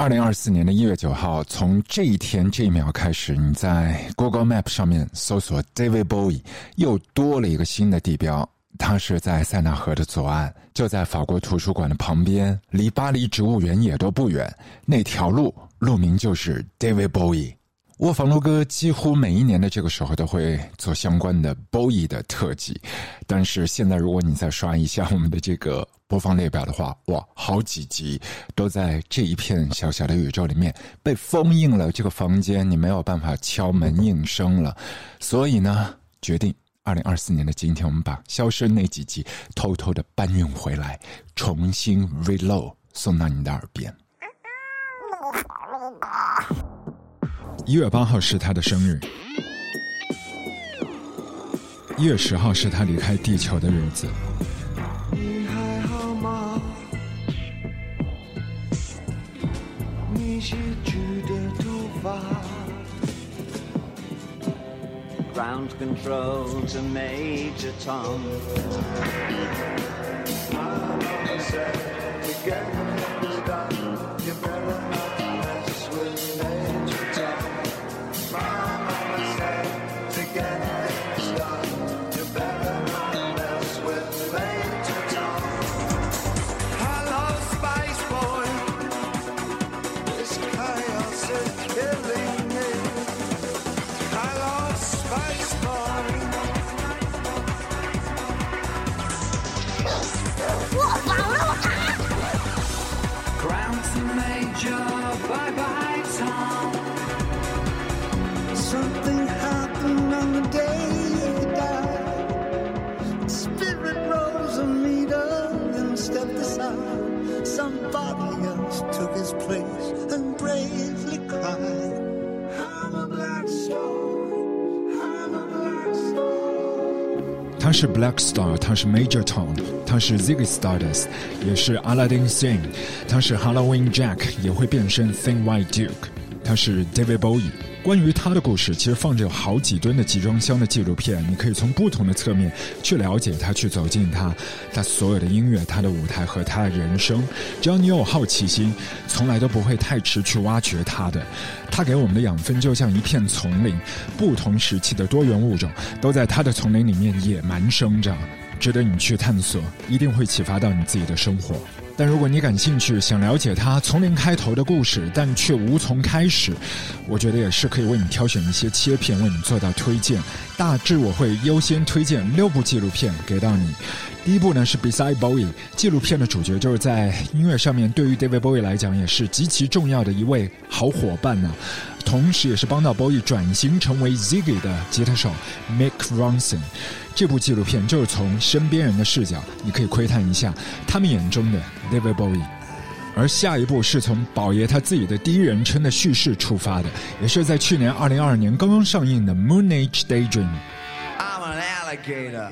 2024年的1月9号，从这一天这一秒开始，你在 Google Map 上面搜索 David Bowie， 又多了一个新的地标。它是在塞纳河的左岸，就在法国图书馆的旁边，离巴黎植物园也都不远。那条路名就是 David Bowie。卧房录歌几乎每一年的这个时候都会做相关的 Bowie 的特辑，但是现在如果你再刷一下我们的这个播放列表的话，哇，好几集都在这一片小小的宇宙里面被封印了，这个房间你没有办法敲门应声了。所以呢，决定2024年的今天，我们把消失那几集偷偷的搬运回来，重新 reload 送到你的耳边。1月8号是他的生日，1月10号是他离开地球的日子。 你还好吗？你洗去的头发。Ground control to Major Tom. Mama said to get things done, you better not mess with Major Tom. Mama said to get things done, you better not mess with Major Tom. Hello, Spice Boy. This chaos is killing me. Hello, Spice Boy. 我防了我。 Ground to Major, bye bye Tom. Something happened on the day he died. Spirit rose a meter and stepped aside. Somebody else took his place and bravely cried. I'm a black star, I'm a black star. 他是 Black Star， 他是 Major Tom， 他是 Ziggy Stardust， 也是 Aladdin Sane， 他是 Halloween Jack， 也会变身 Thin White Duke， 他是 David Bowie。关于他的故事，其实放着有好几吨的集装箱的纪录片，你可以从不同的侧面去了解他，去走进他所有的音乐，他的舞台和他的人生。只要你有好奇心，从来都不会太迟去挖掘他的。他给我们的养分就像一片丛林，不同时期的多元物种都在他的丛林里面野蛮生长，值得你去探索，一定会启发到你自己的生活。但如果你感兴趣，想了解他从零开头的故事，但却无从开始，我觉得也是可以为你挑选一些切片，为你做到推荐。大致我会优先推荐6部纪录片给到你。第一部呢是 Beside Bowie， 纪录片的主角就是在音乐上面对于 David Bowie 来讲也是极其重要的一位好伙伴呢，同时也是帮到 Bowie 转型成为 Ziggy 的吉他手 Mick Ronson。这部纪录片就是从身边人的视角，你可以窥探一下他们眼中的 David Bowie。而下一部是从宝爷他自己的第一人称的叙事出发的，也是在去年2022年刚刚上映的 Moon Age Daydream。 I'm an alligator.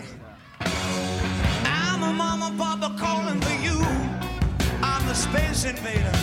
I'm a mama papa calling for you. I'm the space invader.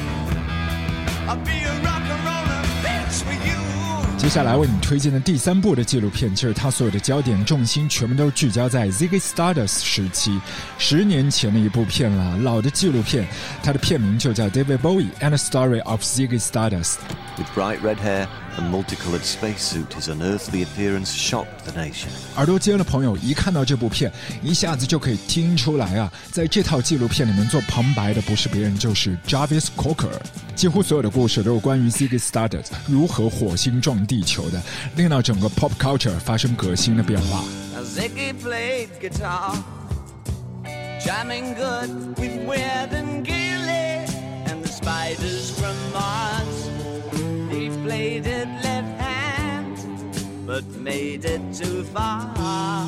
I'll be a rock and roller bitch for you. 接下来为你推荐的第3部的纪录片，就是他所有的焦点重心全部都聚焦在 Ziggy Stardust 时期，10年前的一部片了，老的纪录片，它的片名就叫 David Bowie and the Story of Ziggy Stardust。 With bright red hair and multicolored spacesuit, his unearthly appearance shocked the nation. 耳朵尖的朋友一看到这部片，一下子就可以听出来啊，在这套纪录片里面做旁白的不是别人，就是 Jarvis Cocker。几乎所有的故事都是关于 Ziggy Stardust 如何火星撞地球的，令到整个 pop culture 发生革新的变化。 Now Ziggy played guitar, jamming good with Weird and Gilly and the Spiders from Mars. He played it left hand, but made it too far.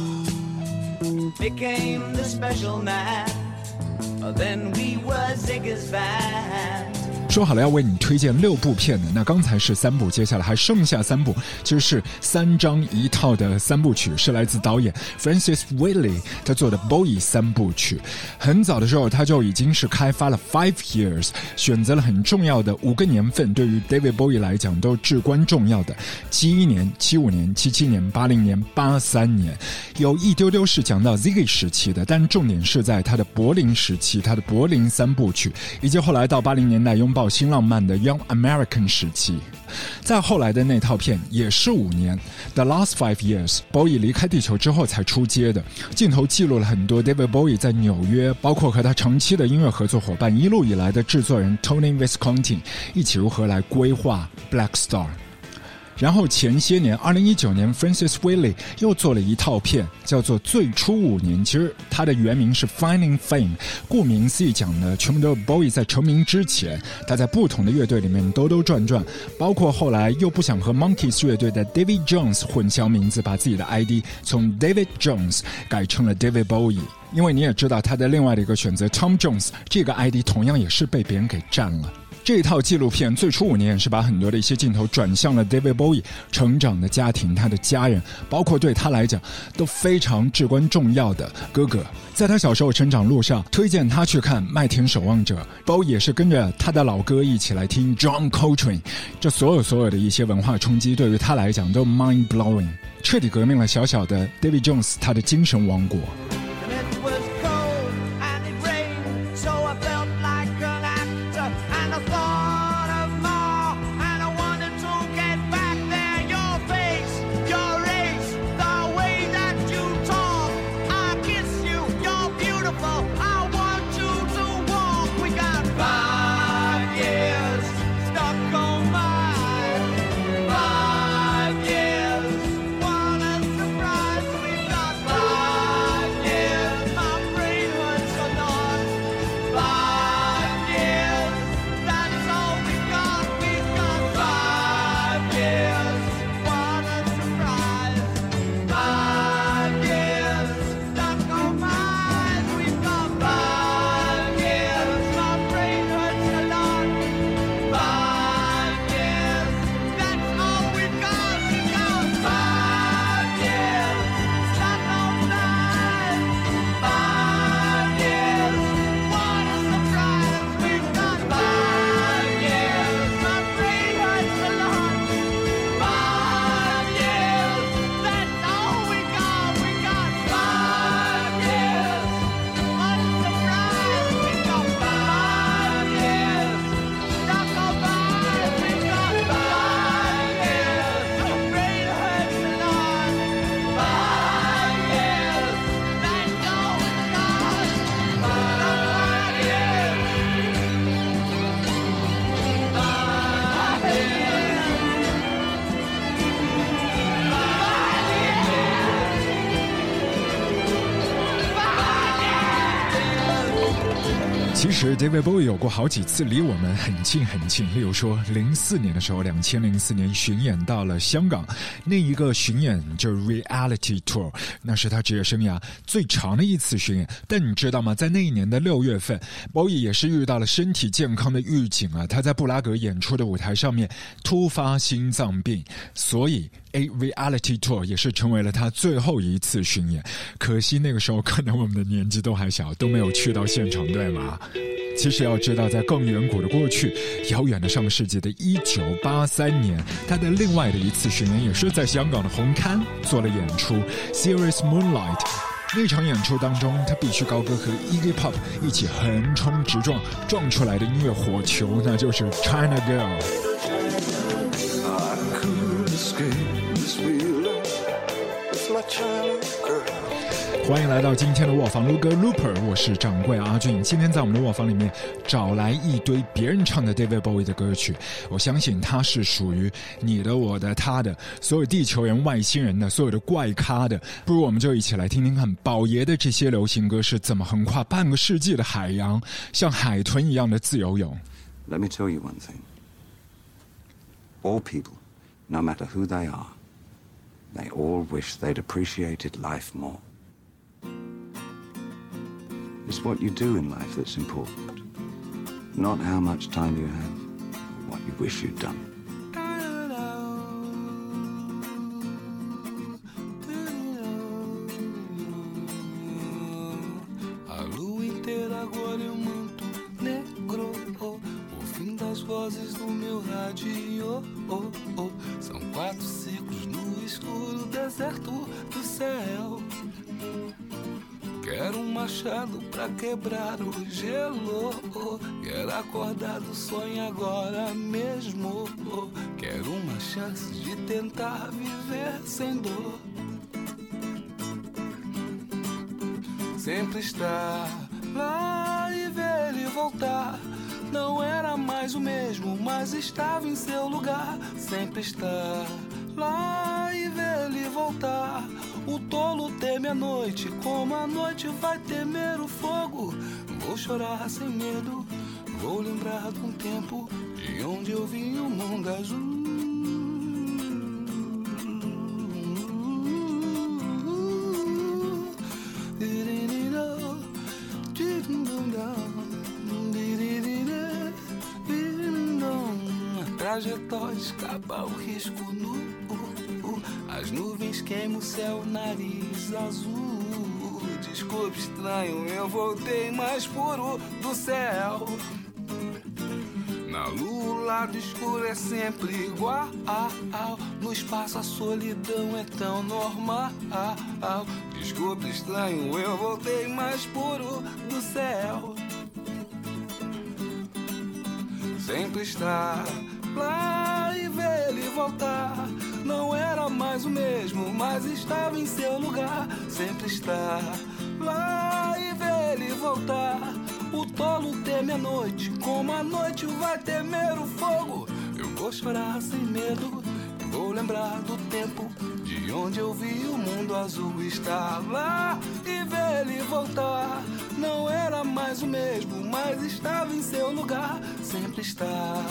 Became the special man, then we were Ziggy's band. 说好了要为你推荐6部片的，那刚才是3部，接下来还剩下3部，其实是3张一套的3部曲，是来自导演 Francis Whiteley 他做的 Bowie 3部曲。很早的时候他就已经是开发了 5 years， 选择了很重要的5个年份，对于 David Bowie 来讲都至关重要的71年、75年、77年、80年、83年，有一丢丢是讲到 Ziggy 时期的，但重点是在他的柏林时期，他的柏林3部曲，以及后来到80年代拥抱爆新浪漫的 Young American 时期。再后来的那套片也是5年 The Last 5 Years， Bowie 离开地球之后才出街的，镜头记录了很多 David Bowie 在纽约，包括和他长期的音乐合作伙伴一路以来的制作人 Tony Visconti 一起如何来规划 Black Star。然后前些年2019年 Francis Whaley 又做了一套片叫做最初5年，其实它的原名是 Finding Fame， 顾名思义讲的全部都是 Bowie 在成名之前他在不同的乐队里面兜兜转转，包括后来又不想和 Monkees 乐队的 David Jones 混淆名字，把自己的 ID 从 David Jones 改成了 David Bowie， 因为你也知道他的另外的一个选择 Tom Jones 这个 ID 同样也是被别人给占了。这一套纪录片最初5年是把很多的一些镜头转向了 David Bowie 成长的家庭，他的家人，包括对他来讲都非常至关重要的哥哥。在他小时候成长路上，推荐他去看《麦田守望者》， Bowie 也是跟着他的老哥一起来听 John Coltrane， 这所有的一些文化冲击对于他来讲都 mind blowing， 彻底革命了小小的 David Jones 他的精神王国。其实 David Bowie 有过好几次离我们很近，例如说04年的时候，2004年巡演到了香港，那一个巡演就是 Reality Tour， 那是他职业生涯最长的一次巡演。但你知道吗，在那一年的6月份 Bowie 也是遇到了身体健康的预警啊，他在布拉格演出的舞台上面突发心脏病，所以Reality Tour 也是成为了他最后一次巡演。可惜那个时候可能我们的年纪都还小，都没有去到现场，对吗？其实要知道，在更远古的过去，遥远的上世纪的1983年，他的另外的一次巡演也是在香港的红磡做了演出 Serious Moonlight。 那场演出当中，他必须高歌和 Iggy Pop 一起横冲直撞，撞出来的音乐火球，那就是 China Girl。欢迎来到今天的卧房撸歌 Looper， 我是掌柜阿俊。今天在我们的卧房里面找来一堆别人唱的 David Bowie 的歌曲，我相信它是属于你的、我的、他的，所有地球人、外星人的，所有的怪咖的。不如我们就一起来听听看宝爷的这些流行歌是怎么横跨半个世纪的海洋，像海豚一样的自由泳。 Let me tell you one thing. All people, no matter who they are, they all wish they'd appreciated life more. It's what you do in life that's important, not how much time you have, or what you wish you'd done. A lua inteira agora é muito negro, o fim das vozes do meu rádio, são 4 ciclos no escuro deserto do céu. Quero um machado pra quebrar o gelo. Quero acordar do sonho agora mesmo. Quero uma chance de tentar viver sem dor. Sempre estar lá e ver ele voltar. Não era mais o mesmo, mas estava em seu lugar. Sempre estar lá e ver ele voltar. O tolo teme a noite, como a noite vai temer o fogo. Vou chorar sem medo, vou lembrar de um tempo de onde eu vi o mundo azul. Trajetória escapa o risco nu. As nuvens queimam o céu, nariz azul. Desculpe, estranho, eu voltei mais puro do céu. Na lua o lado escuro é sempre igual. No espaço a solidão é tão normal. Desculpe, estranho, eu voltei mais puro do céu. Sempre estar lá e ver ele voltar. Não era mais o mesmo, mas estava em seu lugar. Sempre estar lá e ver ele voltar. O tolo teme a noite, como a noite vai temer o fogo. Eu vou chorar sem medo, vou lembrar do tempo de onde eu vi o mundo azul. Estar lá e ver ele voltar. Não era mais o mesmo, mas estava em seu lugar. Sempre estar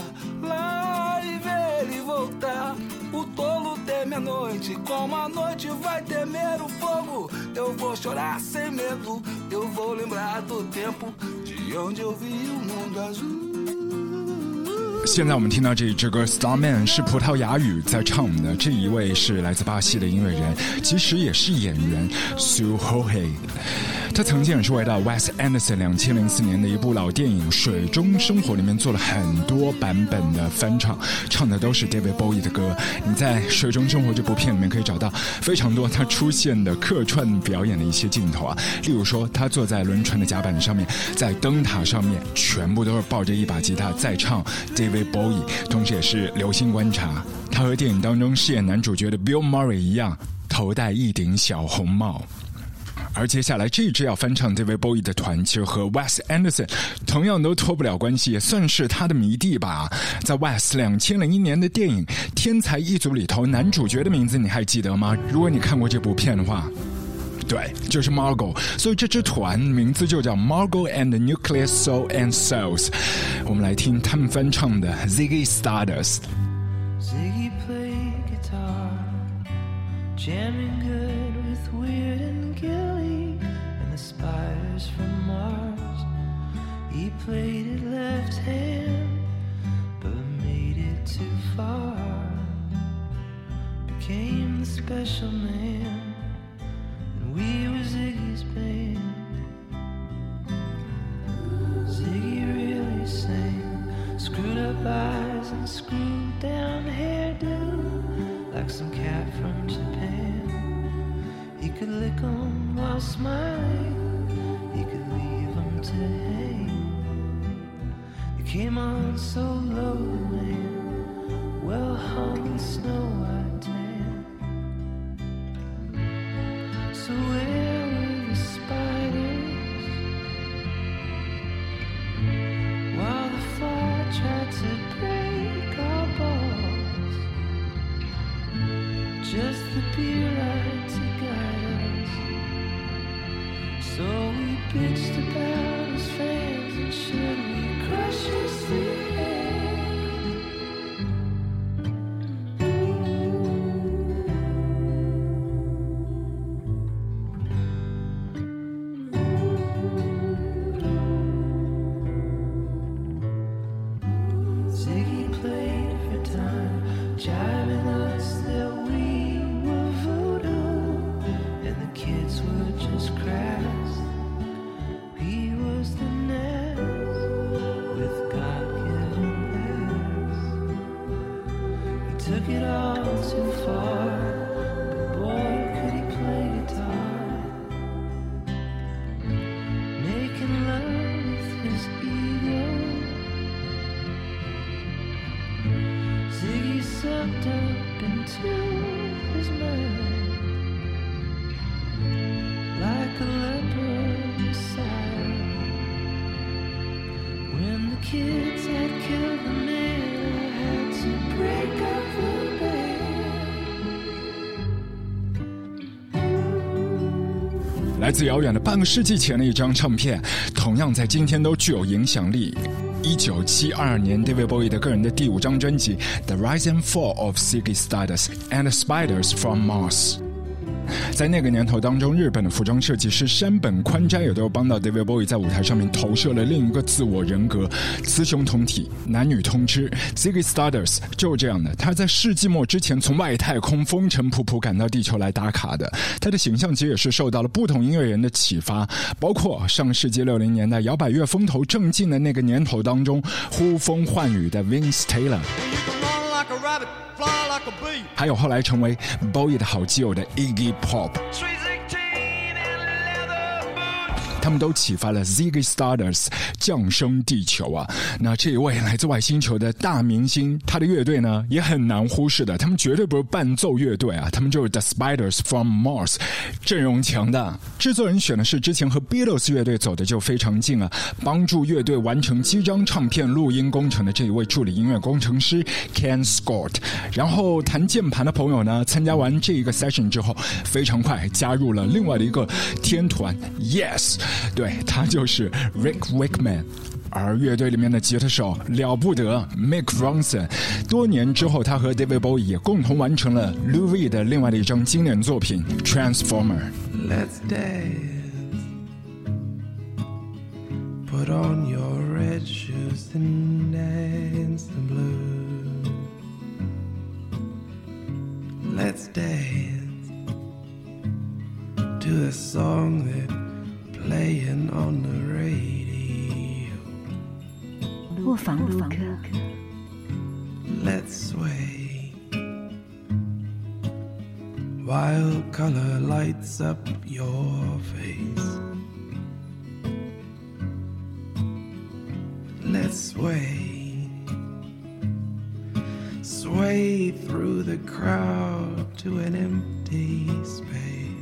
lá e ver ele voltar. O tolo teme a noite, como a noite vai temer o fogo. Eu vou chorar sem medo, eu vou lembrar do tempo de onde eu vi o mundo azul。 现在我们听到这一支歌 Starman 是葡萄牙语在唱的，这一位是来自巴西的音乐人，其实也是演员 Sue Jorge。 他曾经也是为到 Wes Anderson 2004年的一部老电影《水中生活》里面做了很多版本的翻唱，唱的都是 David Bowie 的歌。你在《水中生活》这部片里面可以找到非常多他出现的客串表演的一些镜头啊，例如说他坐在轮船的甲板上面，在灯塔上面全部都是抱着一把吉他在唱 David Bowie， 同时也是留心观察，他和电影当中饰演男主角的 Bill Murray 一样，头戴一顶小红帽。 而接下来这支要翻唱 David Bowie 的团，其实和 Wes Anderson 同样都脱不了关系，也算是他的迷弟吧。在 Wes 2001年的电影《天才一族》里头，男主角的名字你还记得吗？如果你看过这部片的话，对，就是 Margot。所以这支团名字就叫 Margot and the Nuclear Soul and Souls。我们来听他们翻唱的 Ziggy Stardust。Ziggy played guitar, jamming good with Weird and Gilly and the spiders from Mars. He played it left hand, but made it too far. Became the special man, and we were Ziggy's band. Ziggy really sang, screwed up eyes and screwed down hairdo, like some cat from Japan. He could lick 'em while smiling, he could leave 'em to hang. He came on so low, man, well hung in snow white tan. So where were the spiders while the fly tried to break our balls? Just the beer light to guide us. So we bitched about his fans, and should we crush his head? Ziggy played for time, jiving us that we were voodoo, and the kids were just crass. He was the nest with God-given ass. He took it all too far, but boy could he play guitar. Ziggy sucked up into his mind like a leper Messiah. When the kids had killed the man, I had to break up the band. 来自遥远的半个世纪前的一张唱片，同样在今天都具有影响力。1972年 David Bowie 的个人的第5张专辑 The Rise and Fall of Ziggy Stardust and Spiders from Mars。在那个年头当中，日本的服装设计师山本宽斋也都帮到 David Bowie 在舞台上面投射了另一个自我人格，雌雄同体，男女通吃。Ziggy Stardust 就是这样的，他在世纪末之前从外太空风尘仆仆赶到地球来打卡的。他的形象其实也是受到了不同音乐人的启发，包括上世纪60年代摇摆乐风头正劲的那个年头当中呼风唤雨的 Vince Taylor。还有后来成为 Bowie 的好基友的 Iggy Pop， 他们都启发了 Ziggy Stardust 降生地球啊。那这一位来自外星球的大明星，他的乐队呢也很难忽视的，他们绝对不是伴奏乐队啊，他们就是 The Spiders from Mars， 阵容强大。制作人选的是之前和 Beatles 乐队走的就非常近啊，帮助乐队完成7张唱片录音工程的这一位助理音乐工程师 Ken Scott。然后弹键盘的朋友呢，参加完这一个 session 之后，非常快加入了另外的一个天团 Yes。对，他就是 Rick Wakeman， 而乐队里面的吉他手了不得 Mick Ronson。 多年之后，他和 David Bowie 也共同完成了 Lou Reed 的另外的一张经典作品 Transformer。 Let's dance, put on your red shoes and dance the blues. Let's dance to a song that playing on the radio. 卧房录客 Let's sway while color lights up your face. Let's sway, sway through the crowd to an empty space.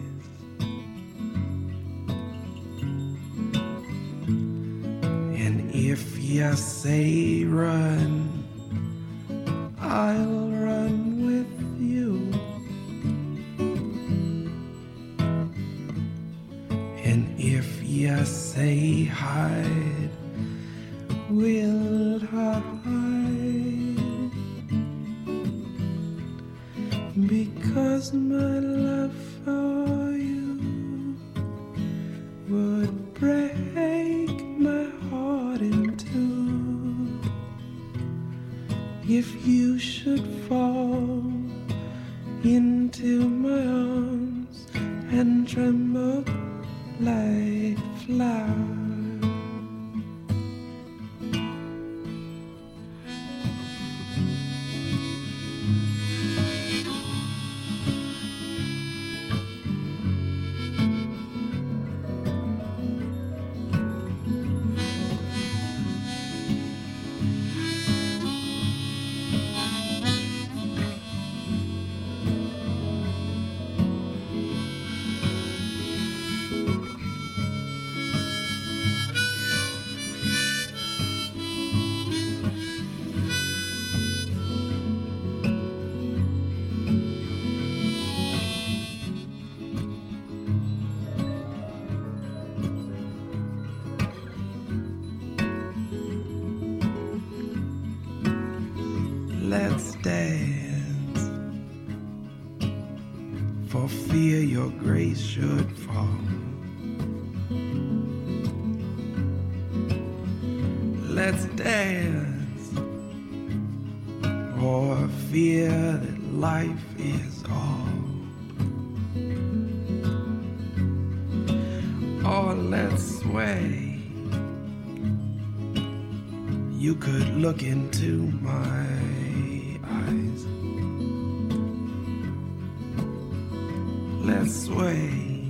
If you say run, I'll run with you. And if you say hide, we'll hide. Because my love for you would break my heart in two. If you should fall into my arms and tremble like flowers. Let's dance, for fear your grace should fall. Let's dance, for fear that life is all. Or let's sway, you could look into my eyes. Let's sway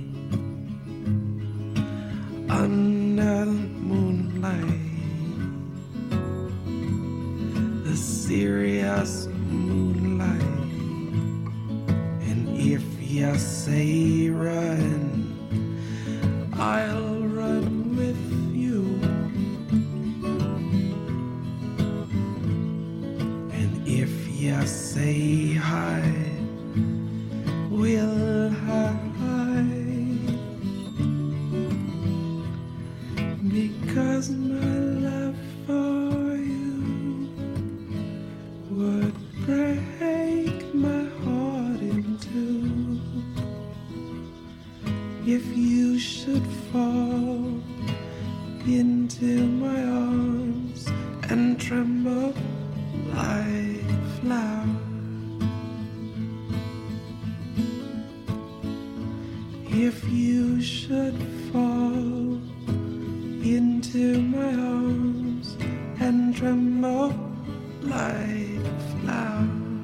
under the moonlight, the serious glorious moonlight. And if you say run, I'll run with you. And if you say hide, we'll hide. Because my love for you would break my heart in two. If you should fall into my arms and tremble like a flower, if you should fall into my arms and tremble like a flower,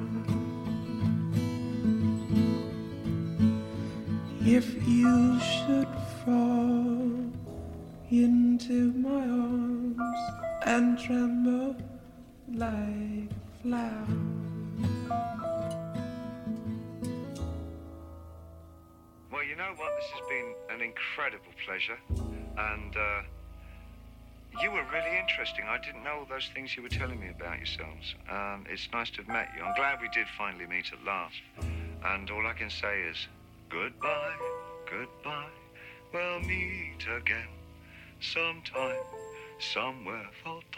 if you should fall into my arms and tremble like a flower. Well, you know what? This has been an incredible pleasure, and you were really interesting. I didn't know all those things you were telling me about yourselves. It's nice to have met you. I'm glad we did finally meet at last. And all I can say is, goodbye, goodbye. We'll meet again sometime, somewhere.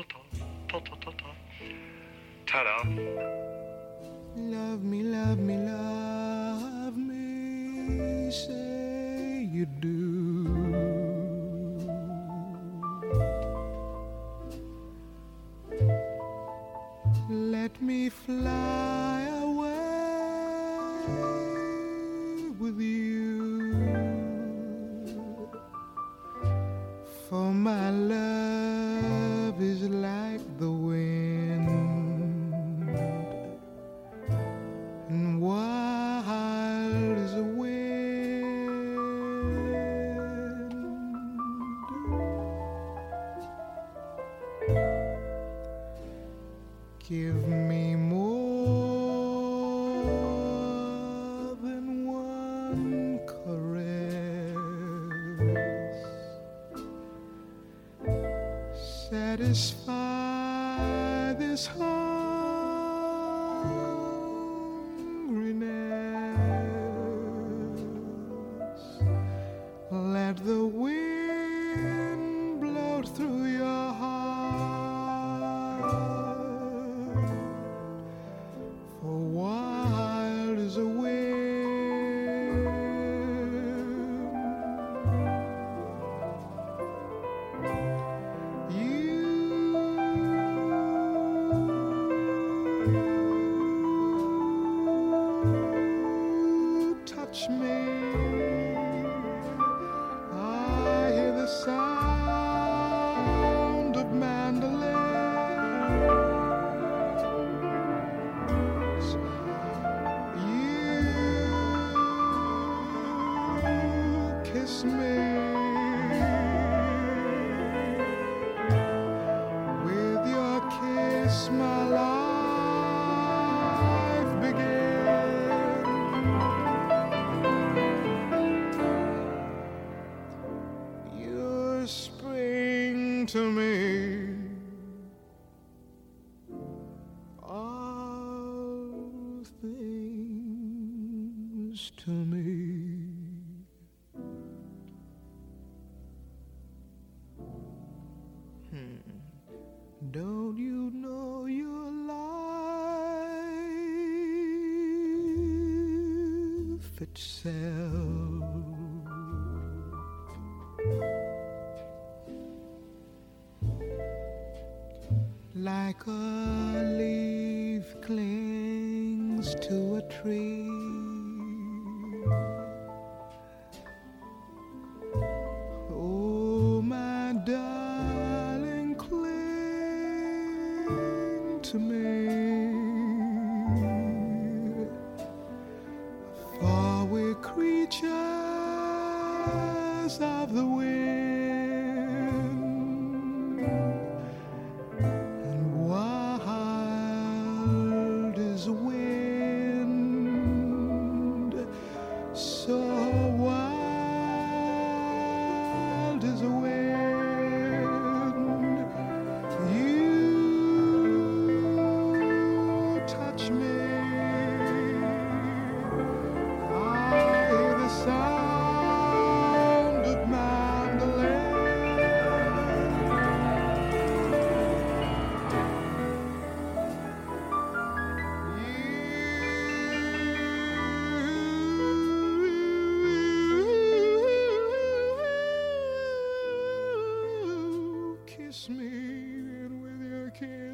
Ta-da. Love me, love me, love me, say you do. Let me fly away with you, for my love is like the wind, and wild as a wind. Give me more than one caress, satisfy this hungriness. Let the wind blow through your heart, for wild as a wind. You touch me, I hear the sound of mandolins. You kiss me, with your kiss my life began. You're spring to me, all things to me. Don't you know your life itself? Like a leaf clings to a tree, oh my darling, cling to me, for we're creatures of the wind. And wild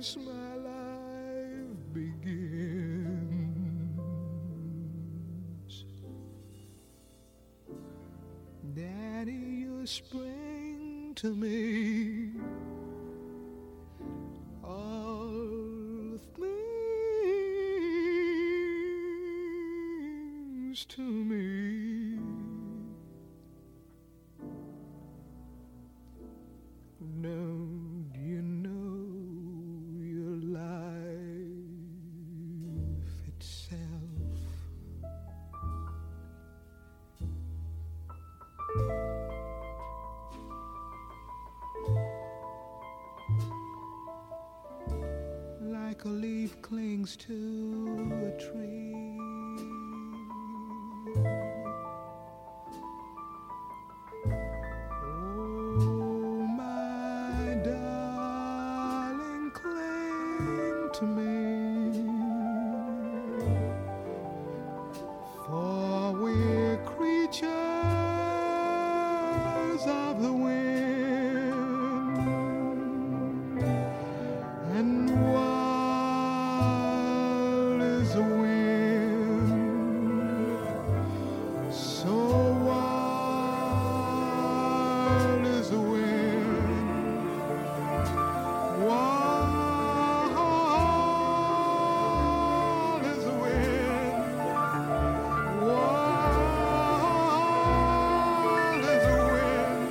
since my life begins. Daddy, you spring to me all things to me. Don't you know your life itself? Like a leaf clings to a tree, oh my darling, cling to me, for we're creatures of the wind, and wild is the wind, so wild is the wind, wild is the wind, wild is the wind,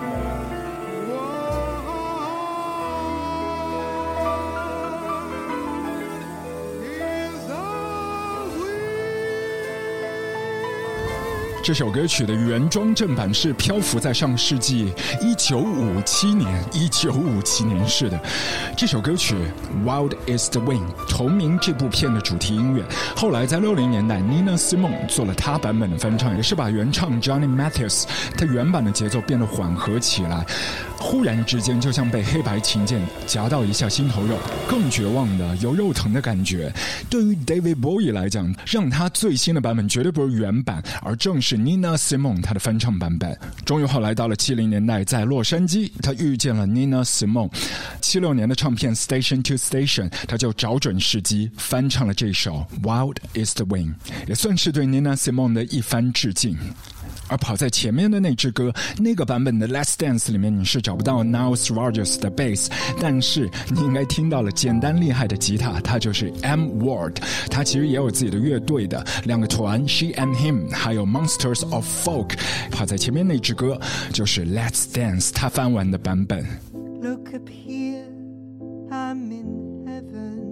这首歌曲的原装正版是漂浮在上世纪1957年是的。这首歌曲 Wild is the Wind 同名这部片的主题音乐，后来在60年代 Nina Simone 做了她版本的翻唱，也是把原唱 Johnny Mathis 他原版的节奏变得缓和起来，忽然之间就像被黑白琴键夹到一下心头肉，更绝望的有肉疼的感觉。对于 David Bowie 来讲，让他最新的版本绝对不是原版，而正是 Nina Simone 他的翻唱版本。终于后来到了70年代，在洛杉矶他遇见了 Nina Simone， 76年的唱片 Station to Station 他就找准时机翻唱了这首 Wild is the Wind， 也算是对 Nina Simone 的一番致敬。而跑在前面的那支歌，那个版本的 Let's Dance 里面你是找不到 Nile Rodgers 的 bass， 但是你应该听到了简单厉害的吉他，他就是 M Ward， 他其实也有自己的乐队的两个团 She and Him 还有 Monsters of Folk。 跑在前面那支歌就是 Let's Dance 他翻完的版本。 Look up here, I'm in heaven.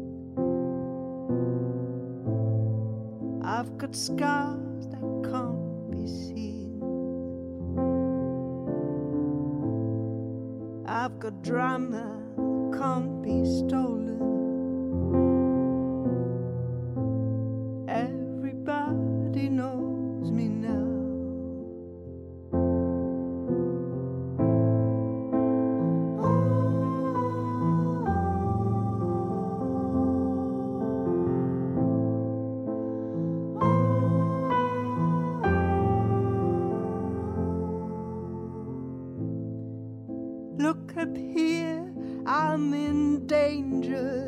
I've got scars that can't be seen. I've got drama can't be stolen. Everybody knows me now. Look up here, I'm in danger.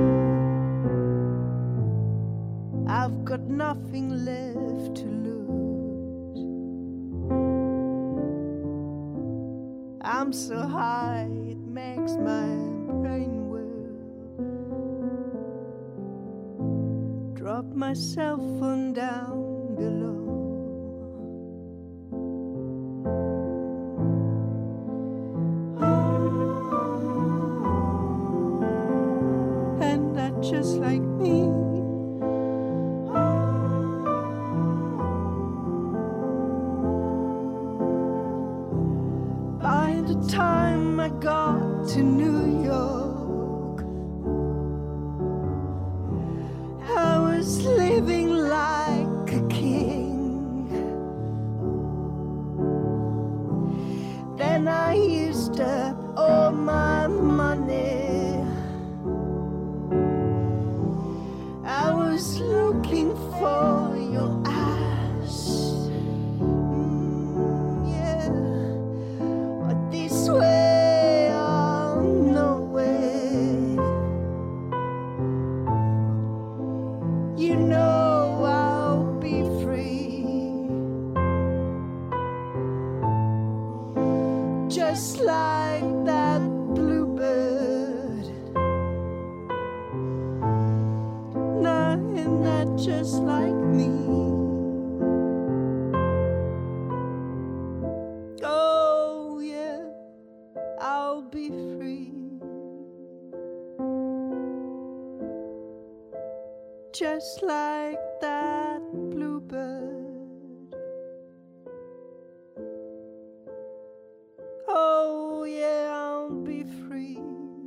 I've got nothing left to lose. I'm so high, it makes my brain whirl. Drop my cell phone down below. Just like me. By the time I got to New York, I was living like a king. you know I'll be free. Just like that bluebird. Nah, isn't that just like me? Oh yeah, I'll be free. Just like that bluebird. Oh yeah, I'll be free.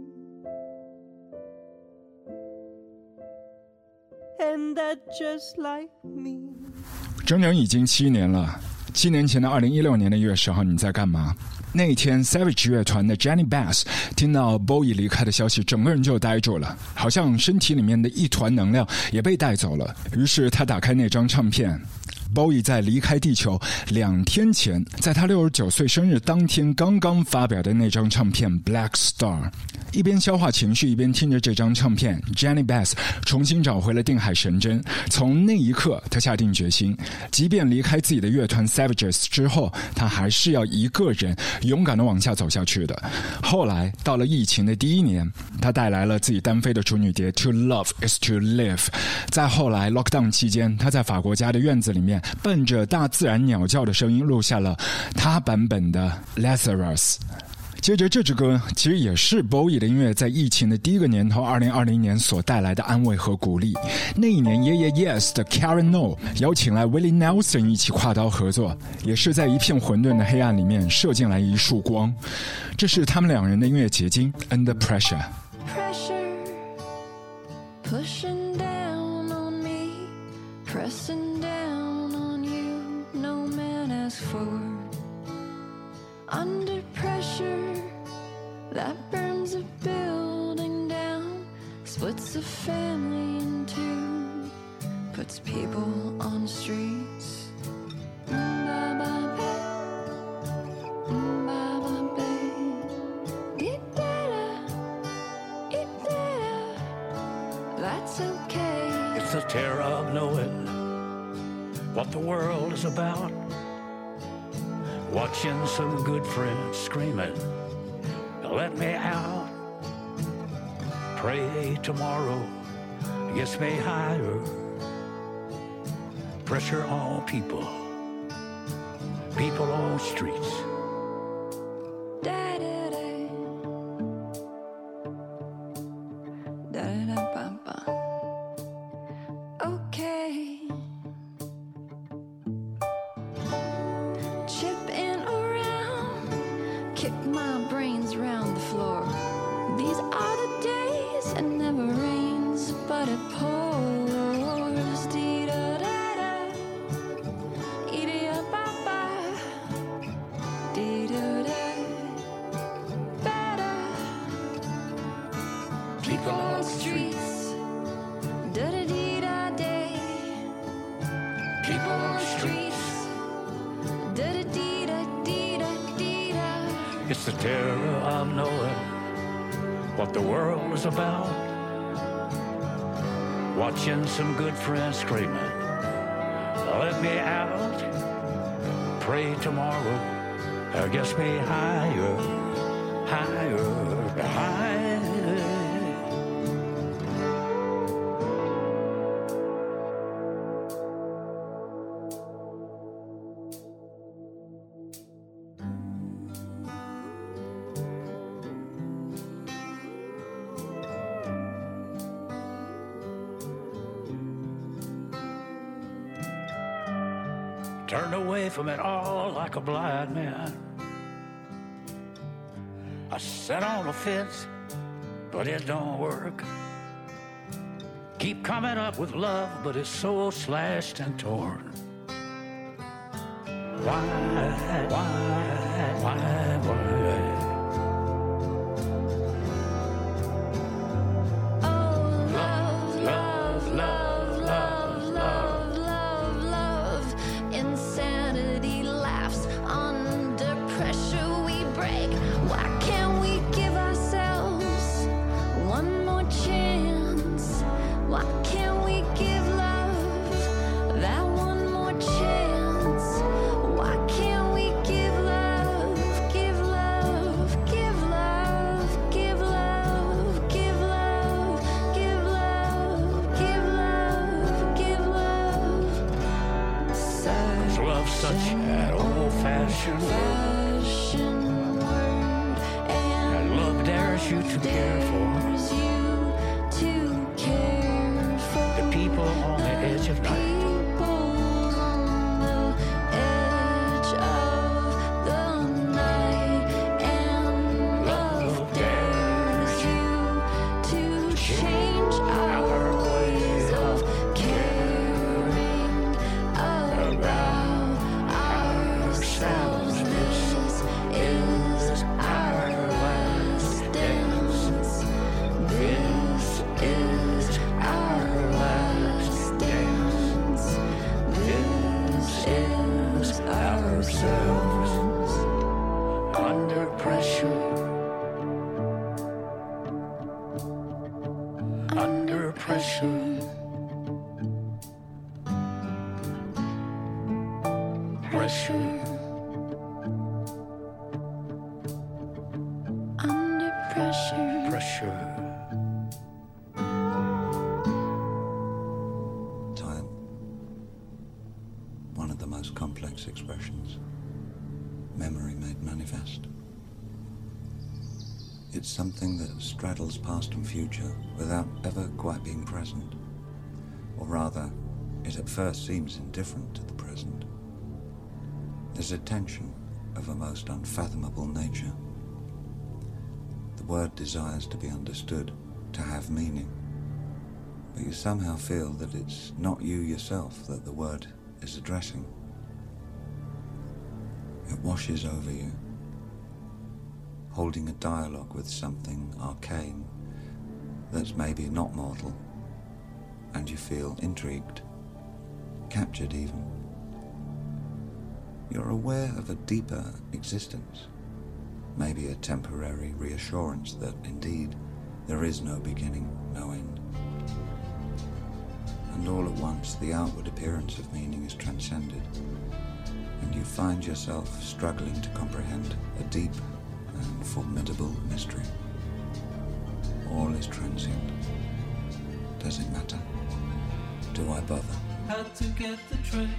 And that just like me. 整整已经7年了。7年前的2016年的1月10号，你在干嘛？那一天 Savage 乐团的 Jenny Bass 听到 Bowie 离开的消息，整个人就呆住了，好像身体里面的一团能量也被带走了。于是他打开那张唱片，Bowie 在离开地球2天前，在他69岁生日当天刚刚发表的那张唱片 Black Star。 一边消化情绪，一边听着这张唱片， Jenny Bass 重新找回了定海神针。从那一刻，他下定决心，即便离开自己的乐团 Savages 之后，他还是要一个人勇敢地往下走下去的。后来到了疫情的第1年，他带来了自己单飞的处女碟 To Love Is To Live。 再后来 Lockdown 期间，他在法国家的院子里面伴着大自然鸟叫的声音录下了他版本的 Lazarus。 接着这支歌其实也是 Bowie 的音乐在疫情的第一个年头2020年所带来的安慰和鼓励。那一年 Yeah Yeah Yes 的 Karen No 邀请来 Willie Nelson 一起跨刀合作，也是在一片混沌的黑暗里面射进来一束光。这是他们2人的音乐结晶 Under Pressure。 Pressure pushing down on me, pressing down on you, no man asked for. Under pressure that burns a building down, splits a family in two, puts people on streets. That's okay. It's the terror of knowing what the world is about. Watching some good friends screaming, let me out. Pray tomorrow gets me higher. Pressure on people, people on streets. Okay. Chipping around, kick my brains round the floor. These are the days it never rains, but it pours. Dee-da-da-da, ee-dee-da-ba-ba, dee-da-da, ba-da. People on the streets, da-da-dee-da-day. People on the streets, da-da-dee-da-dee-da-dee-da. It's the terror of knowing what the world is about. Watching some good friends screaming, let me out. Pray tomorrow gets me higher, higher, higher. Turned away from it all like a blind man. I sat on the fence, but it don't work. Keep coming up with love, but it's so slashed and torn. Why? Insanity laughs. Under pressure we break. Why can't we give ourselves one more chance? Why can't we give love such an old-fashioned word. And love dares you to care for the people on the edge of night. Under pressure, under pressure, pressure, Under pressure. pressure. Time. One of the most complex expressions. Memory made manifest. It's something that straddles past and future without ever quite being present. Or rather, it at first seems indifferent to the present. There's a tension of a most unfathomable nature. The word desires to be understood, to have meaning, but you somehow feel that it's not you yourself that the word is addressing. It washes over you, holding a dialogue with something arcane that's maybe not mortal, and you feel intrigued, captured even. You're aware of a deeper existence, maybe a temporary reassurance that indeed there is no beginning, no end. And all at once the outward appearance of meaning is transcended, and you find yourself struggling to comprehend a deep and formidable mystery. All is transient. Does it matter? Do I bother? Had to get the train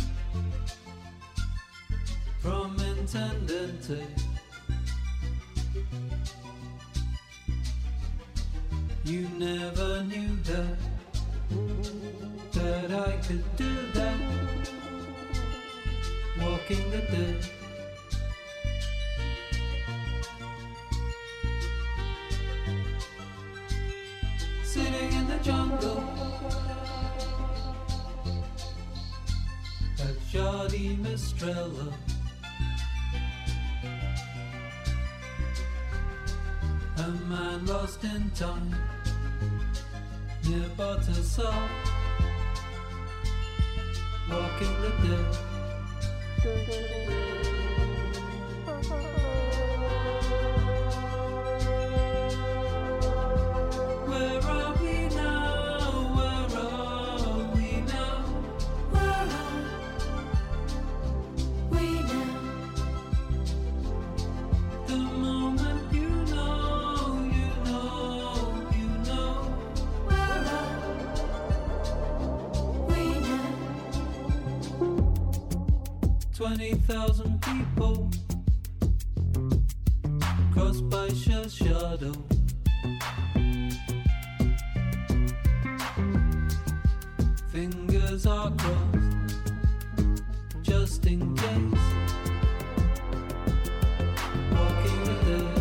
from Intendente. You never knew that I could do that. Walking the dead. Sitting in the jungle at Jardim Estrella. A man lost in time near Batasar, walking the dead. Where are we now? Where are we now? Where are we now? The moment you know. Where are we now? 20,000 people crossed by shell shadow. Fingers are crossed just in case. Walking the dead.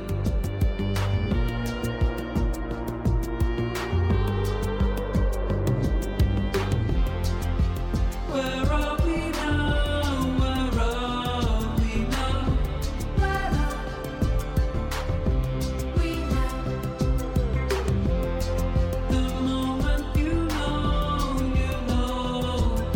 Where are we now? Where are we now? Where are we now? The moment you know.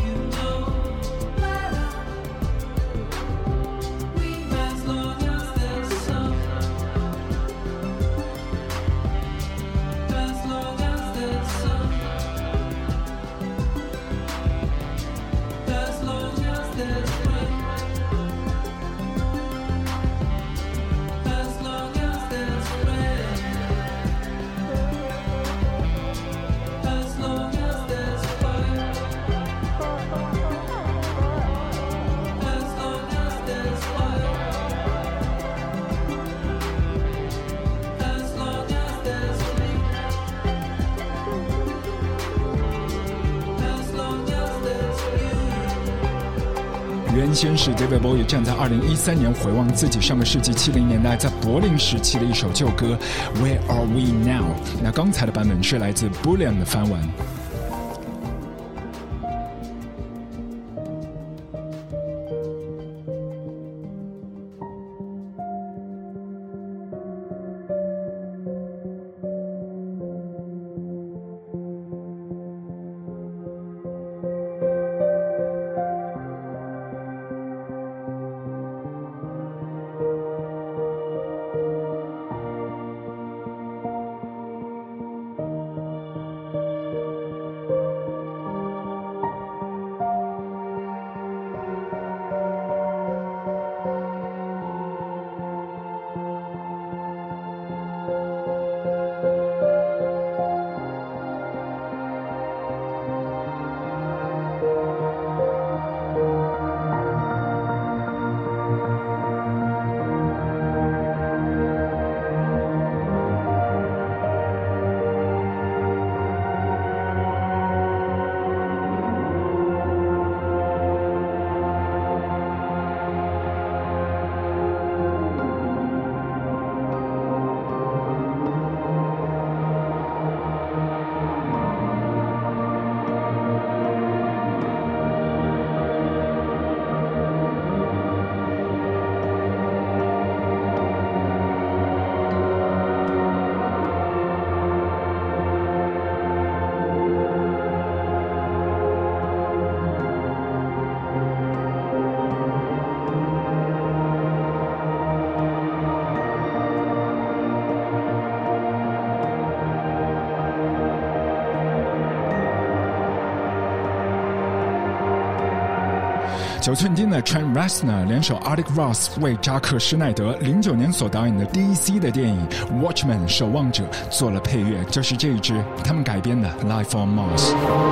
原先是 David Bowie 站在2013年回望自己上个世纪70年代在柏林时期的一首旧歌 Where Are We Now。 那刚才的版本是来自 Bullion 的翻玩。9寸钉的 Trent Reznor 联手 Attic Ross 为扎克施耐德09年所导演的 DC 的电影 Watchmen 守望者做了配乐，就是这一支他们改编的 Life on Mars。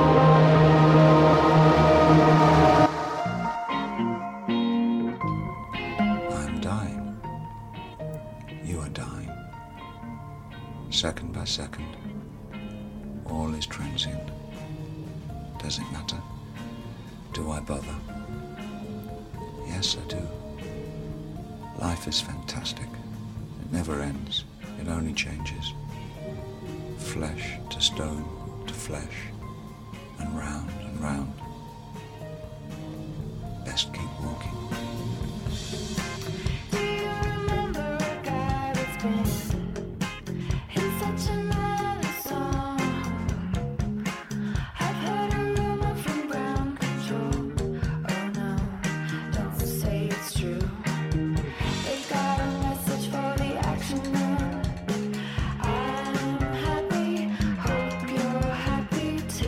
I'm dying. You are dying. Second by second. All is transient. Does it matter? Do I bother? Yes, I do. Life is fantastic. It never ends. It only changes. Flesh to stone to flesh. And round and round. Best keep walking. Happy, hope you're happy too.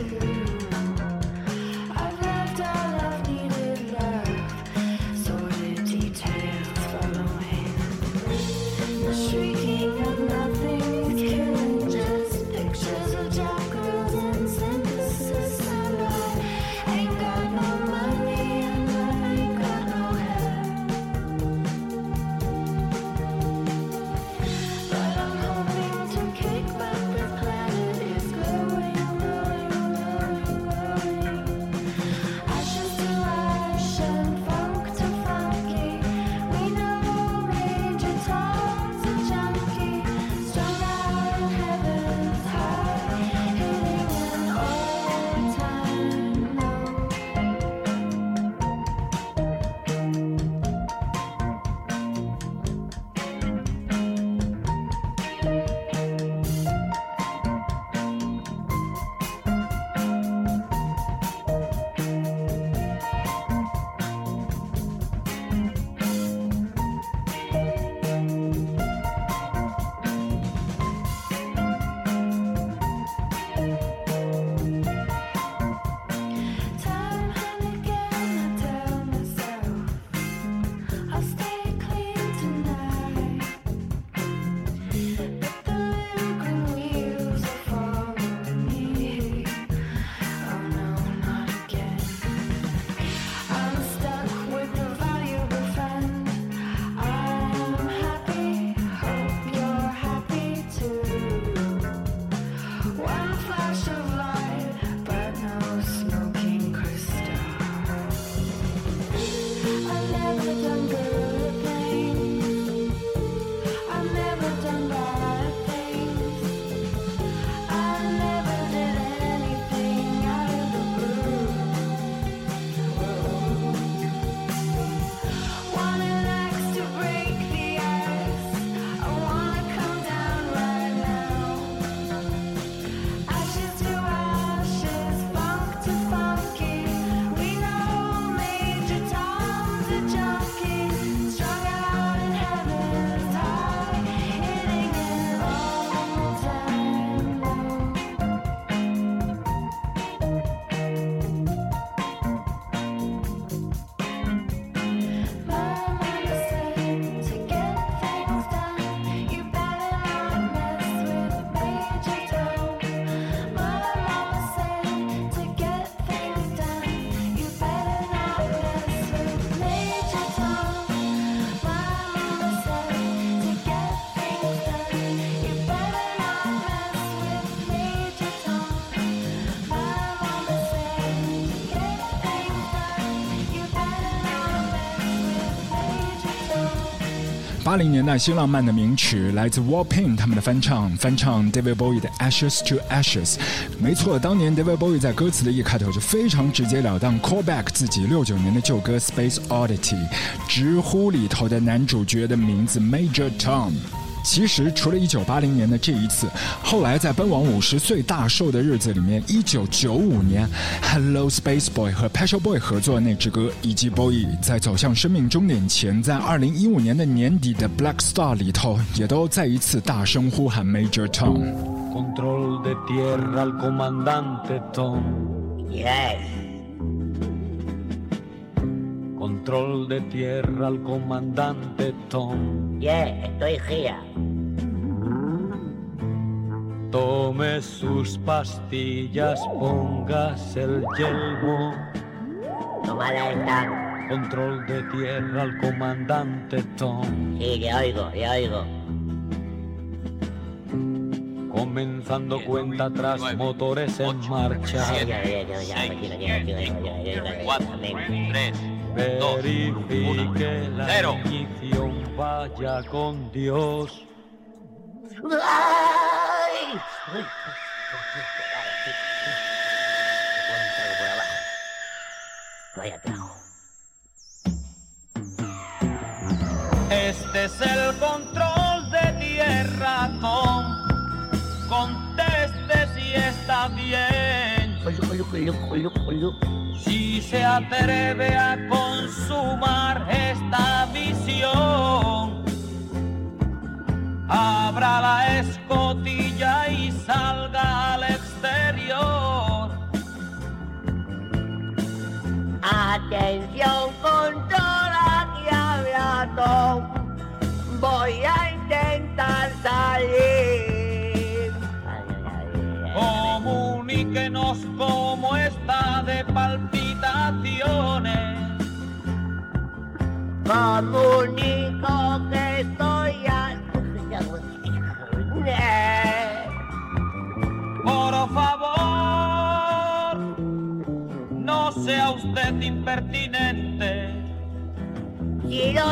80年代新浪漫的名曲，来自 Warpaint 他们的翻唱 David Bowie 的 Ashes to Ashes。 没错，当年 David Bowie 在歌词的一开头就非常直截了当 call back 自己69年的旧歌 Space Oddity， 直呼里头的男主角的名字 Major Tom。其实除了1980年的这一次，后来在奔往50岁大寿的日子里面，1995年 Hello Space Boy 和 Pet Shop Boy 合作的那支歌，以及 Bowie 在走向生命终点前，在2015年的年底的 Black Star 里头，也都再一次大声呼喊 Major Tom。Control de tierra al comandante Tom. Yes. Control de tierra al comandante Tom. Yeah, estoy here. Tome sus pastillas, póngase el yelmo. Tomada esta. Control de tierra al comandante Tom. Sí, que oigo. Comenzando cuenta atrás, motores en marcha. 4, 3, verifique la ignición, vaya con Dios. Este es el control de tierra, Tom. Conteste si está bien. Si se atreve a consumar esta visión, abra la escotilla y salga al exterior. Atención, control, aquí habla Tom. Voy a intentar salir. Comuníquenos cómo está de palpitaciones. Comunico que estoy Por favor, no sea usted impertinente. Si lo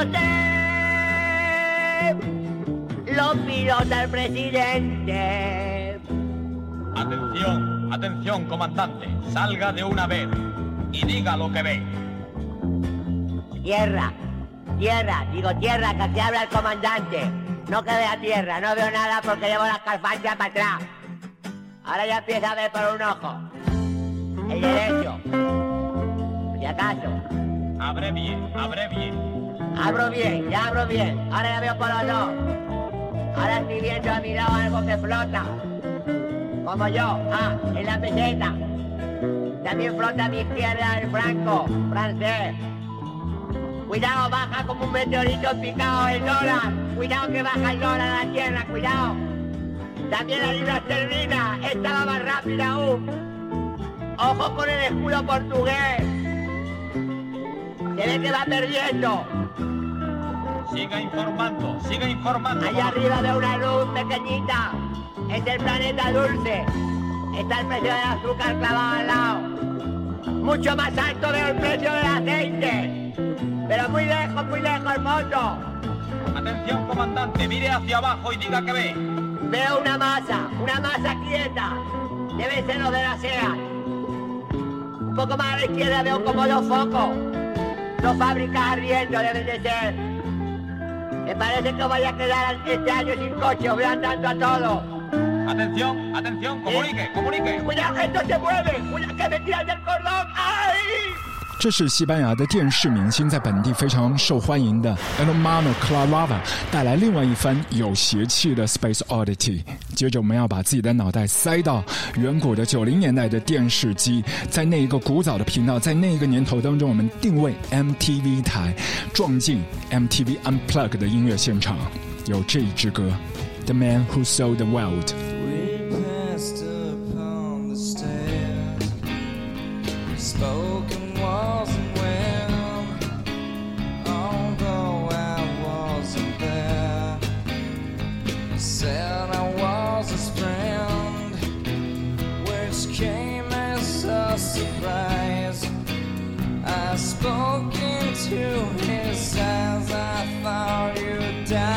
sé, lo pilota el presidente. Atención, atención, comandante. Salga de una vez y diga lo que ve. Tierra, que aquí habla el comandante. No que vea tierra, no veo nada porque llevo las calfanchas para atrás. Ahora ya empieza a ver por un ojo. El derecho. Si acaso. Abre bien. Abro bien. Ahora ya veo por los dos. Ahora estoy viendo a mi lado algo que flota. Como yo, en la meseta. También flota a mi izquierda el franco, francés. Cuidado, baja como un meteorito picado el dólar. Cuidado que baja el dólar a la tierra, cuidado. También la libra esterlina, esta va más rápida aún. Ojo con el escudo portugués. Se ve que va perdiendo. Siga informando. Allá arriba veo una luz pequeñita. Es el planeta dulce. Está el precio del azúcar clavado al lado. Mucho más alto veo el precio del aceite. Pero muy lejos, moto. Atención, comandante, mire hacia abajo y diga que ve. Veo una masa quieta. Debe ser lo de la SEAT. Un poco más a la izquierda veo como 2 focos. 2 fábricas ardiendo deben de ser. Me parece que voy a quedar este año sin coche, voy andando a todo. Atención, comunique. Cuidado, esto se mueve. Cuidado que me tiran del cordón. ¡Ay! 这是西班牙的电视明星在本地非常受欢迎的 Hermano Clarava 带来另外一番有邪气的 Space Oddity。 接着我们要把自己的脑袋塞到远古的90年代的电视机，在那一个古早的频道，在那一个年头当中，我们定位 MTV 台，撞进 MTV Unplugged 的音乐现场，有这一支歌 The Man Who Sold the World.Spoke into his eyes, I thought you died.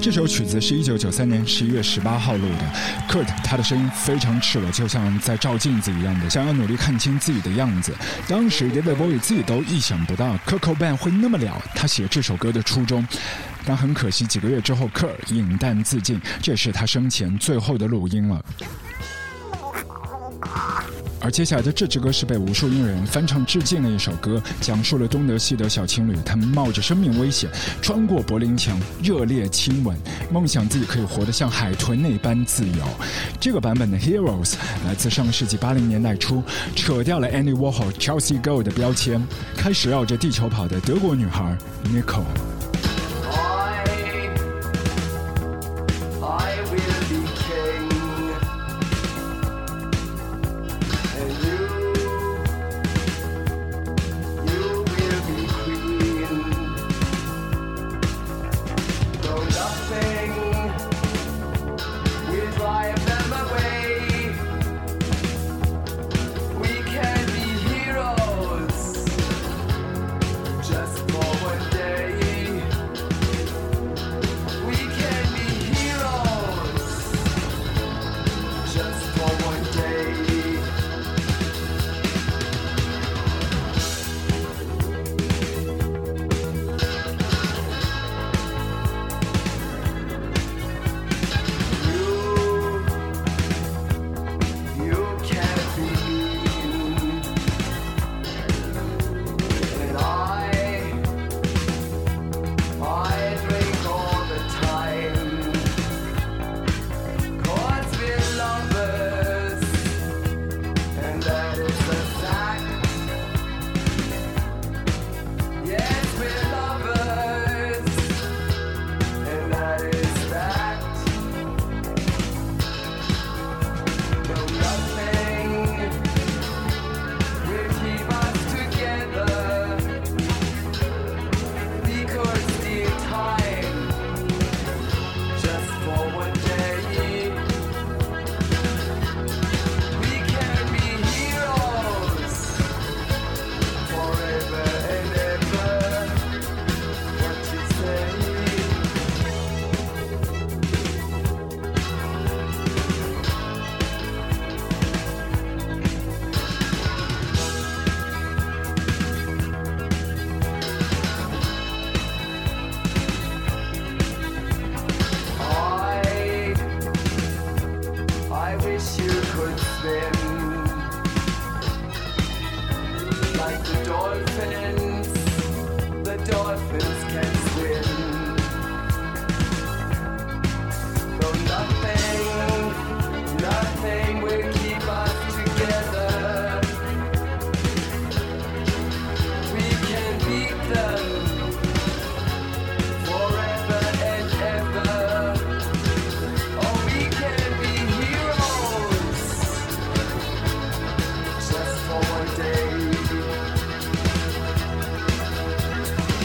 这首曲子是1993年11月18号录的。Kurt 他的声音非常赤裸，就像在照镜子一样的，想要努力看清自己的样子。当时 David Bowie 自己都意想不到 Kurt Cobain 会那么了他写这首歌的初衷。但很可惜，几个月之后 Kurt 饮弹自尽，这也是他生前最后的录音了。而接下来的这支歌是被无数音乐人翻唱致敬的一首歌，讲述了东德西德小情侣他们冒着生命危险穿过柏林墙，热烈亲吻，梦想自己可以活得像海豚那般自由。这个版本的 Heroes 来自上世纪80年代初，扯掉了 Andy Warhol、Chelsea Gold 的标签，开始绕着地球跑的德国女孩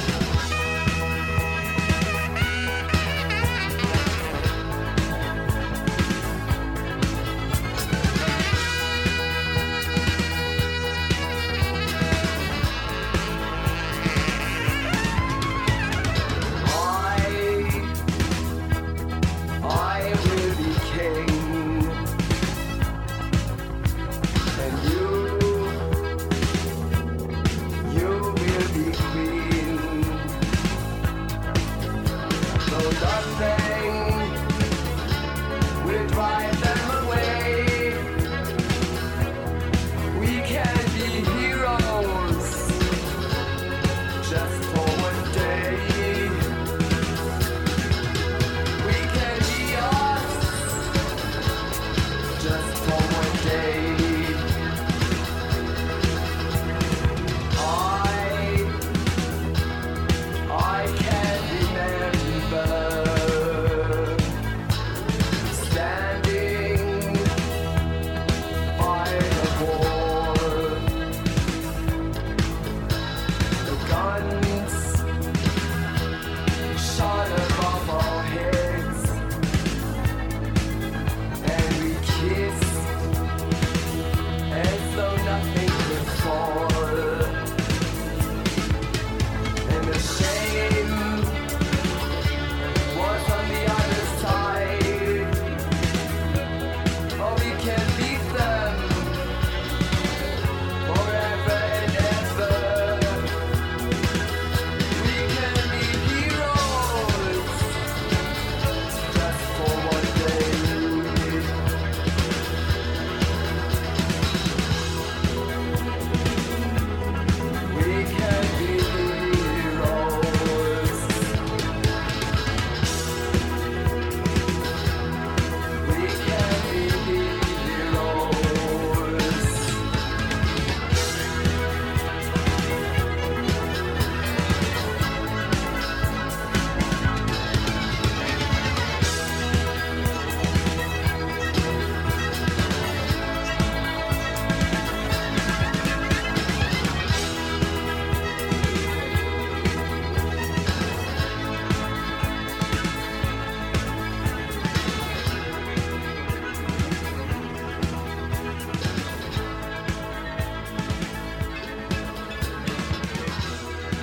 Nico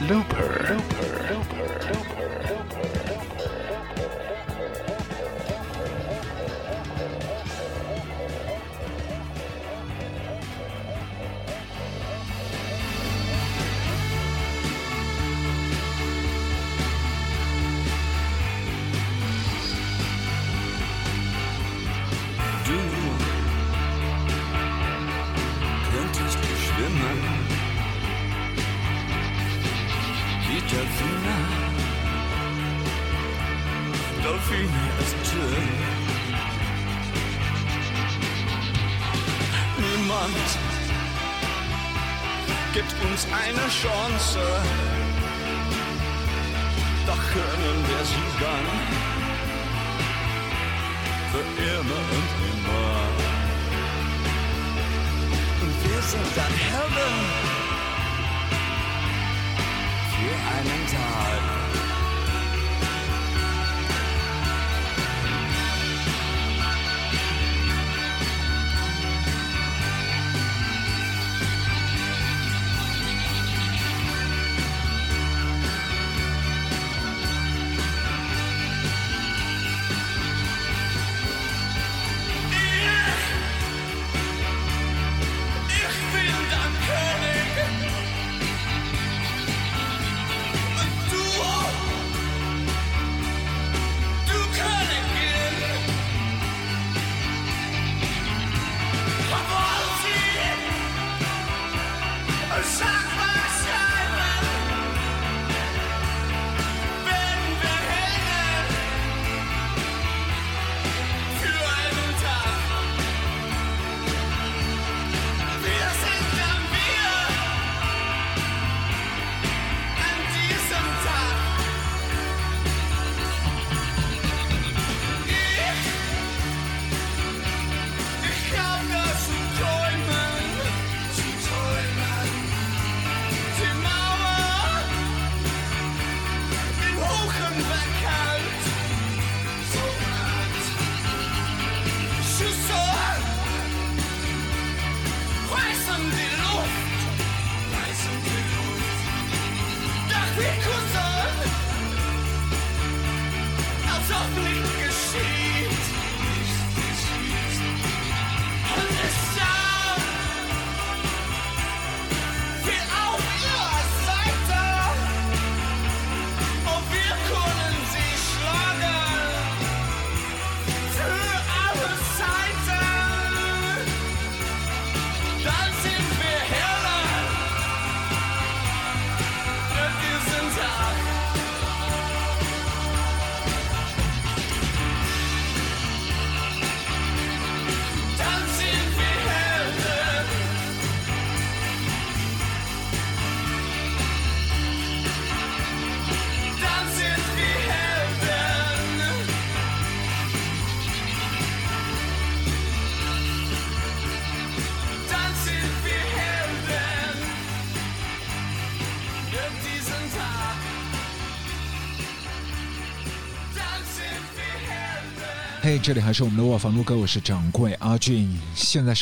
Looper. Delfine ist schön. Niemand gibt uns eine Chance, doch können wir sie dann für immer und immer. Und wir sind dann Helden für einen Tag. 嘿，这里还是我们的卧房录歌，我是掌柜阿俊。现在是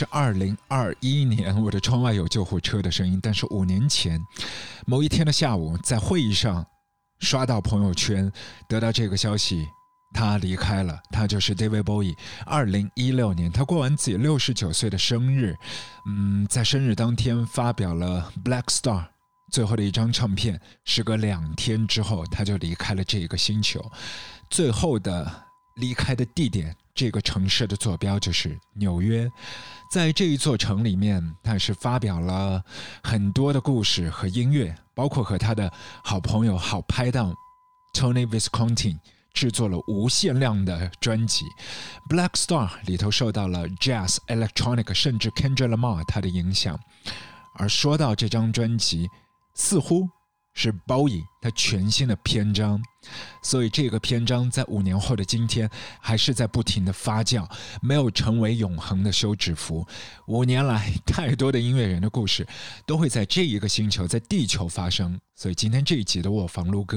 2021年，我的窗外有救护车的声音。但是5年前某一天的下午，在会议上刷到朋友圈，得到这个消息，他离开了。他就是 David Bowie。2016年，他过完自己69岁的生日，在生日当天发表了 Black Star 最后的一张唱片。时隔2天之后，他就离开了这个星球。最后的离开的地点，这个城市的坐标就是纽约。在这一座城里面，他也是发表了很多的故事和音乐，包括和他的好朋友、好拍档 Tony Visconti 制作了无限量的专辑。 Black Star 里头受到了 Jazz、Electronic 甚至 Kendrick Lamar 他的影响。而说到这张专辑，似乎是 Bowie 他全新的篇章，所以这个篇章在5年后的今天还是在不停的发酵，没有成为永恒的休止符。5年来，太多的音乐人的故事都会在这一个星球，在地球发生。所以今天这一集的卧房录歌，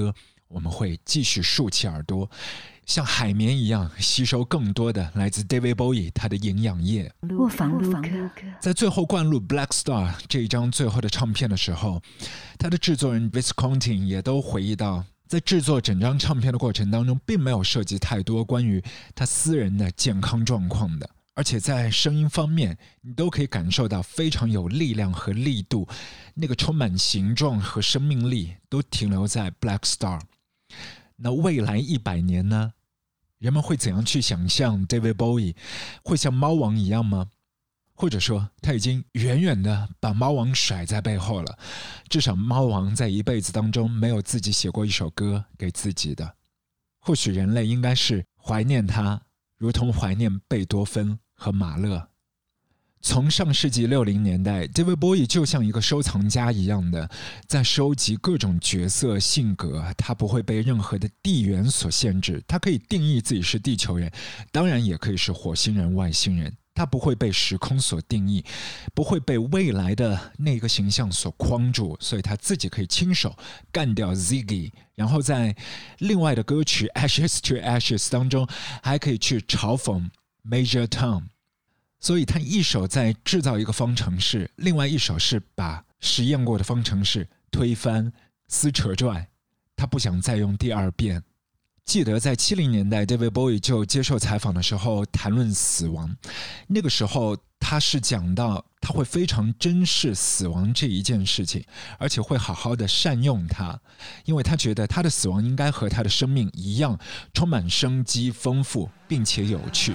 我们会继续竖起耳朵，像海绵一样吸收更多的来自 David Bowie 他的营养液。 卧房录客在最后灌录 Black Star 这一张最后的唱片的时候，他的制作人 Visconti 也都回忆到，在制作整张唱片的过程当中，并没有涉及太多关于他私人的健康状况的，而且在声音方面你都可以感受到非常有力量和力度，那个充满形状和生命力都停留在 Black Star。 那未来100年呢，人们会怎样去想象 David Bowie 会像猫王一样吗？或者说他已经远远的把猫王甩在背后了，至少猫王在一辈子当中没有自己写过一首歌给自己的。或许人类应该是怀念他，如同怀念贝多芬和马勒。从上世纪60年代 David Bowie 就像一个收藏家一样的在收集各种角色性格，他不会被任何的地缘所限制，他可以定义自己是地球人，当然也可以是火星人外星人，他不会被时空所定义，不会被未来的那个形象所框住，所以他自己可以亲手干掉 Ziggy， 然后在另外的歌曲 Ashes to Ashes 当中还可以去嘲讽 Major Tom。 所以他一手在制造一个方程式，另外一手是把实验过的方程式推翻撕扯拽，他不想再用第二遍。记得在70年代 David Bowie 就接受采访的时候谈论死亡，那个时候他是讲到他会非常珍视死亡这一件事情，而且会好好的善用它，因为他觉得他的死亡应该和他的生命一样充满生机丰富并且有趣。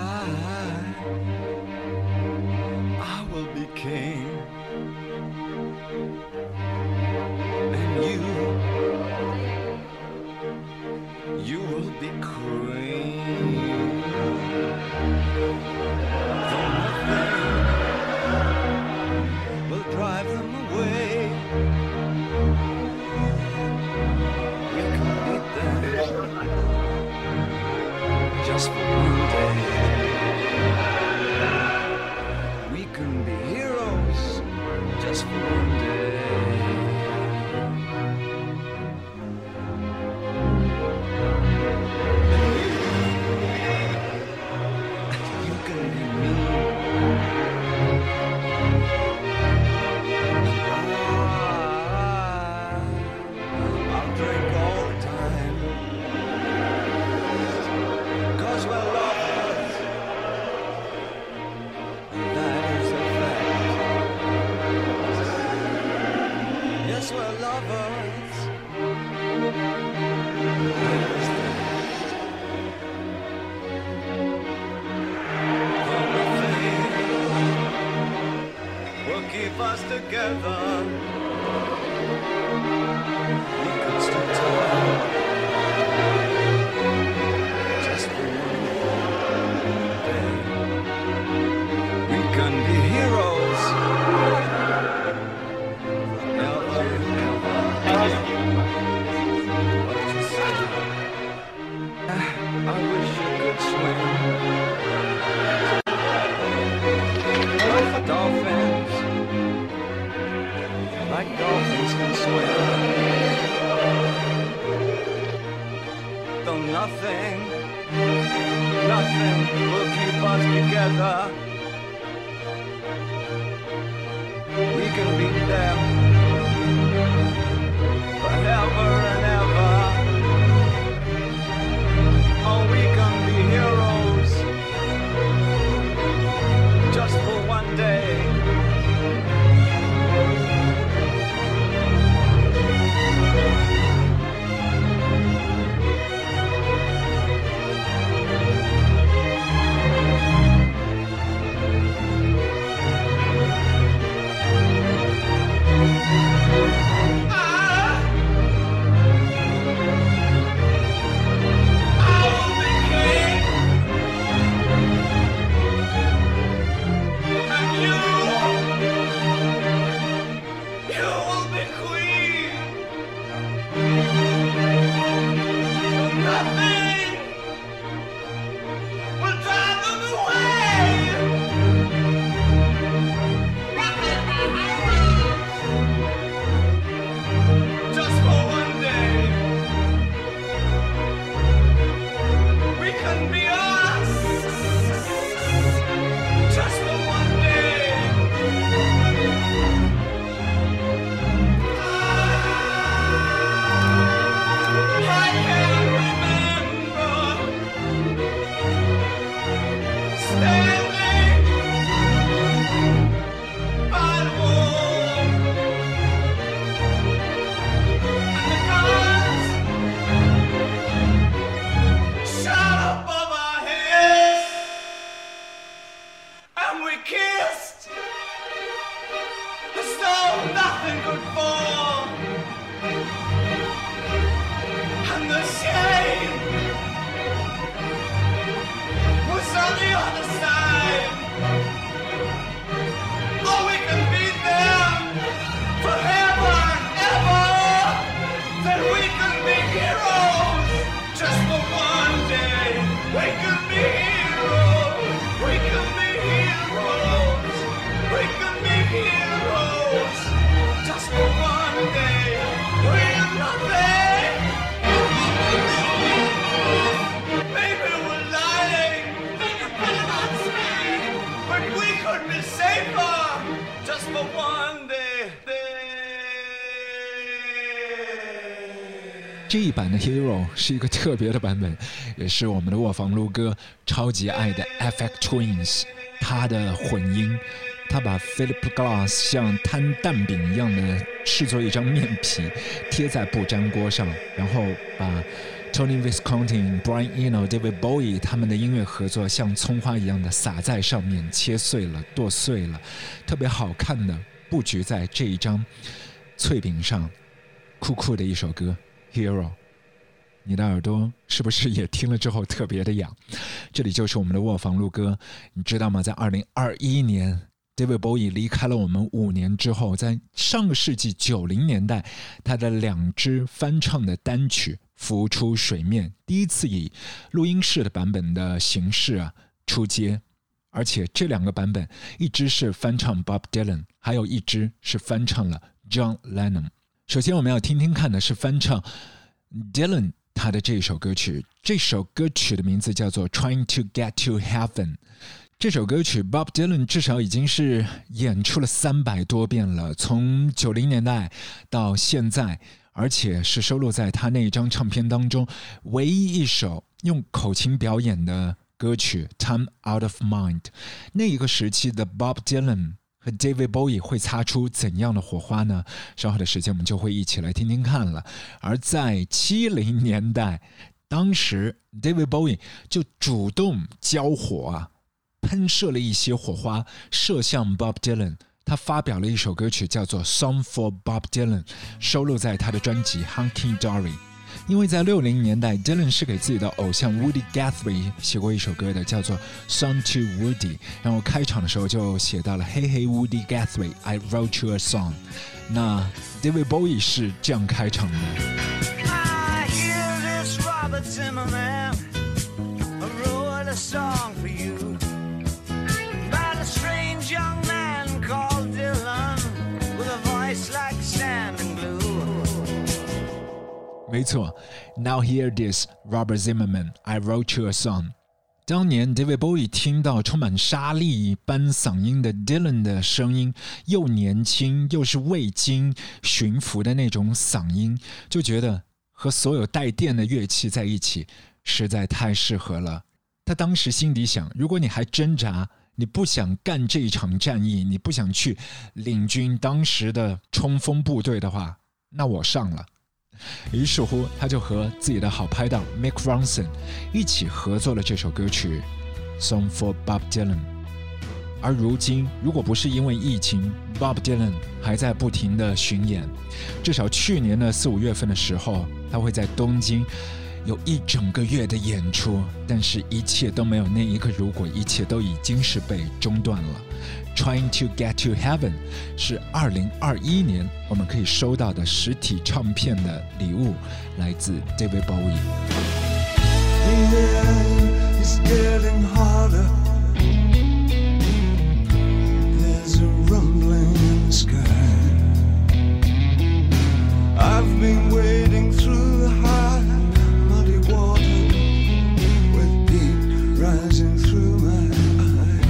Just for one day, we can be heroes. Just for one day, you can be me. I'll drink all the time. We're lovers, that is a fact. Yes, we're lovers, that is that. For nothing will keep us together. We could still talk. Nothing will keep us together. We can be them forever and ever. Oh, we can be heroes just for one day. we kissed as though nothing could fall, and the shame was on the other side. Oh, we can be there forever and ever, then we can be heroes just for one day. We can be heroes, we can be heroes, we can be heroes just for one day. We're nothing, maybe we're lying, but we could be safer just for one day. 这一版的 Hero 是一个特别的版本，也是我们的卧房撸哥超级爱的 FX Twins 他的混音。他把 Philip Glass 像摊蛋饼一样的制作一张面皮贴在不粘锅上，然后把 Tony Visconti、Brian Eno、David Bowie 他们的音乐合作像葱花一样的撒在上面，切碎了剁碎了，特别好看的布局在这一张脆饼上，酷酷的一首歌 Hero。 你的耳朵是不是也听了之后特别的痒？这里就是我们的卧房撸哥。你知道吗，在2021年 David Bowie 离开了我们5年之后，在上个世纪90年代，他的2支翻唱的单曲浮出水面，第一次以录音室的版本的形式出街，而且这2个版本，一支是翻唱 Bob Dylan， 还有一支是翻唱了 John Lennon。 首先我们要听听看的是翻唱 Dylan 他的这首歌曲，这首歌曲的名字叫做 Trying to Get to Heaven。 这首歌曲 Bob Dylan 至少已经是演出了300多遍了，从90年代到现在，而且是收录在他那一张唱片当中唯一一首用口琴表演的歌曲 Time Out of Mind。 那一个时期的 Bob Dylan 和 David Bowie 会擦出怎样的火花呢？稍后的时间我们就会一起来听听看了。而在70年代，当时 David Bowie 就主动交火喷射了一些火花射向 Bob Dylan， 他发表了一首歌曲叫做 Song for Bob Dylan， 收录在他的专辑 Hunky Dory。 因为在60年代 Dylan 是给自己的偶像 Woody Guthrie 写过一首歌的，叫做 Song to Woody， 然后开场的时候就写到了 Hey hey Woody Guthrie I wrote you a song。 那 David Bowie 是这样开场的。 I hear this Robert Zimmerman I wrote a song for you about a strange young man called Dylan with a voice like sand and glue。 没错 Now hear this Robert Zimmerman I wrote you a song。 当年 David Bowie 听到充满沙粒般嗓音的 Dylan 的声音，又年轻又是未经驯服的那种嗓音，就觉得和所有带电的乐器在一起实在太适合了。他当时心底想，如果你还挣扎，你不想干这一场战役，你不想去领军当时的冲锋部队的话，那我上了。于是乎他就和自己的好拍档 Mick Ronson 一起合作了这首歌曲 Song for Bob Dylan。 而如今如果不是因为疫情， Bob Dylan 还在不停的巡演，至少去年的4、5月份的时候，他会在东京有1整个月的演出，但是一切都没有那一个如果，一切都已经是被中断了。 Trying to Get to Heaven 是2021年我们可以收到的实体唱片的礼物，来自 David Bowie。 The air is getting harder. There's a rumbling in the sky. I've been wading through the high, muddy water with heat rising through my eye.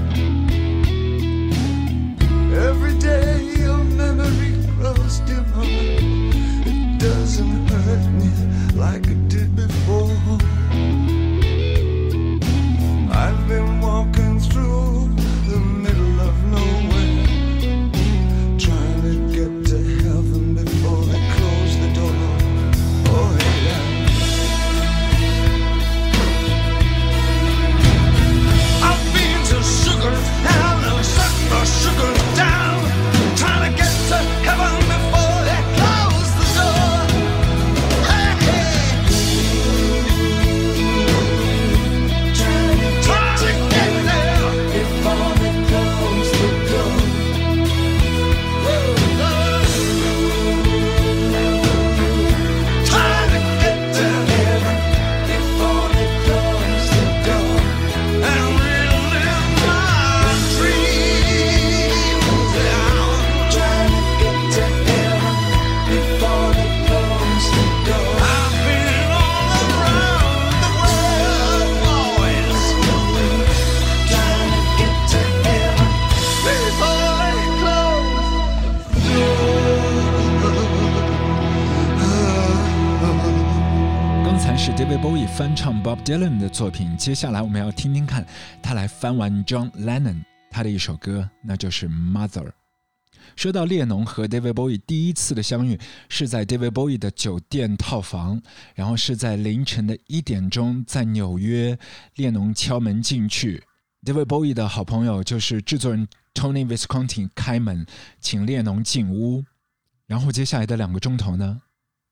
Every day your memory grows dimmer. It doesn't hurt me like it did before. I've been David Bowie 翻唱 Bob Dylan 的作品，接下来我们要听听看他来翻完 John Lennon 他的一首歌，那就是 Mother。 说到列侬和 David Bowie 第一次的相遇是在 David Bowie 的酒店套房，然后是在凌晨的1点钟，在纽约，列侬敲门进去， David Bowie 的好朋友就是制作人 Tony Visconti 开门请列侬进屋，然后接下来的2个钟头呢，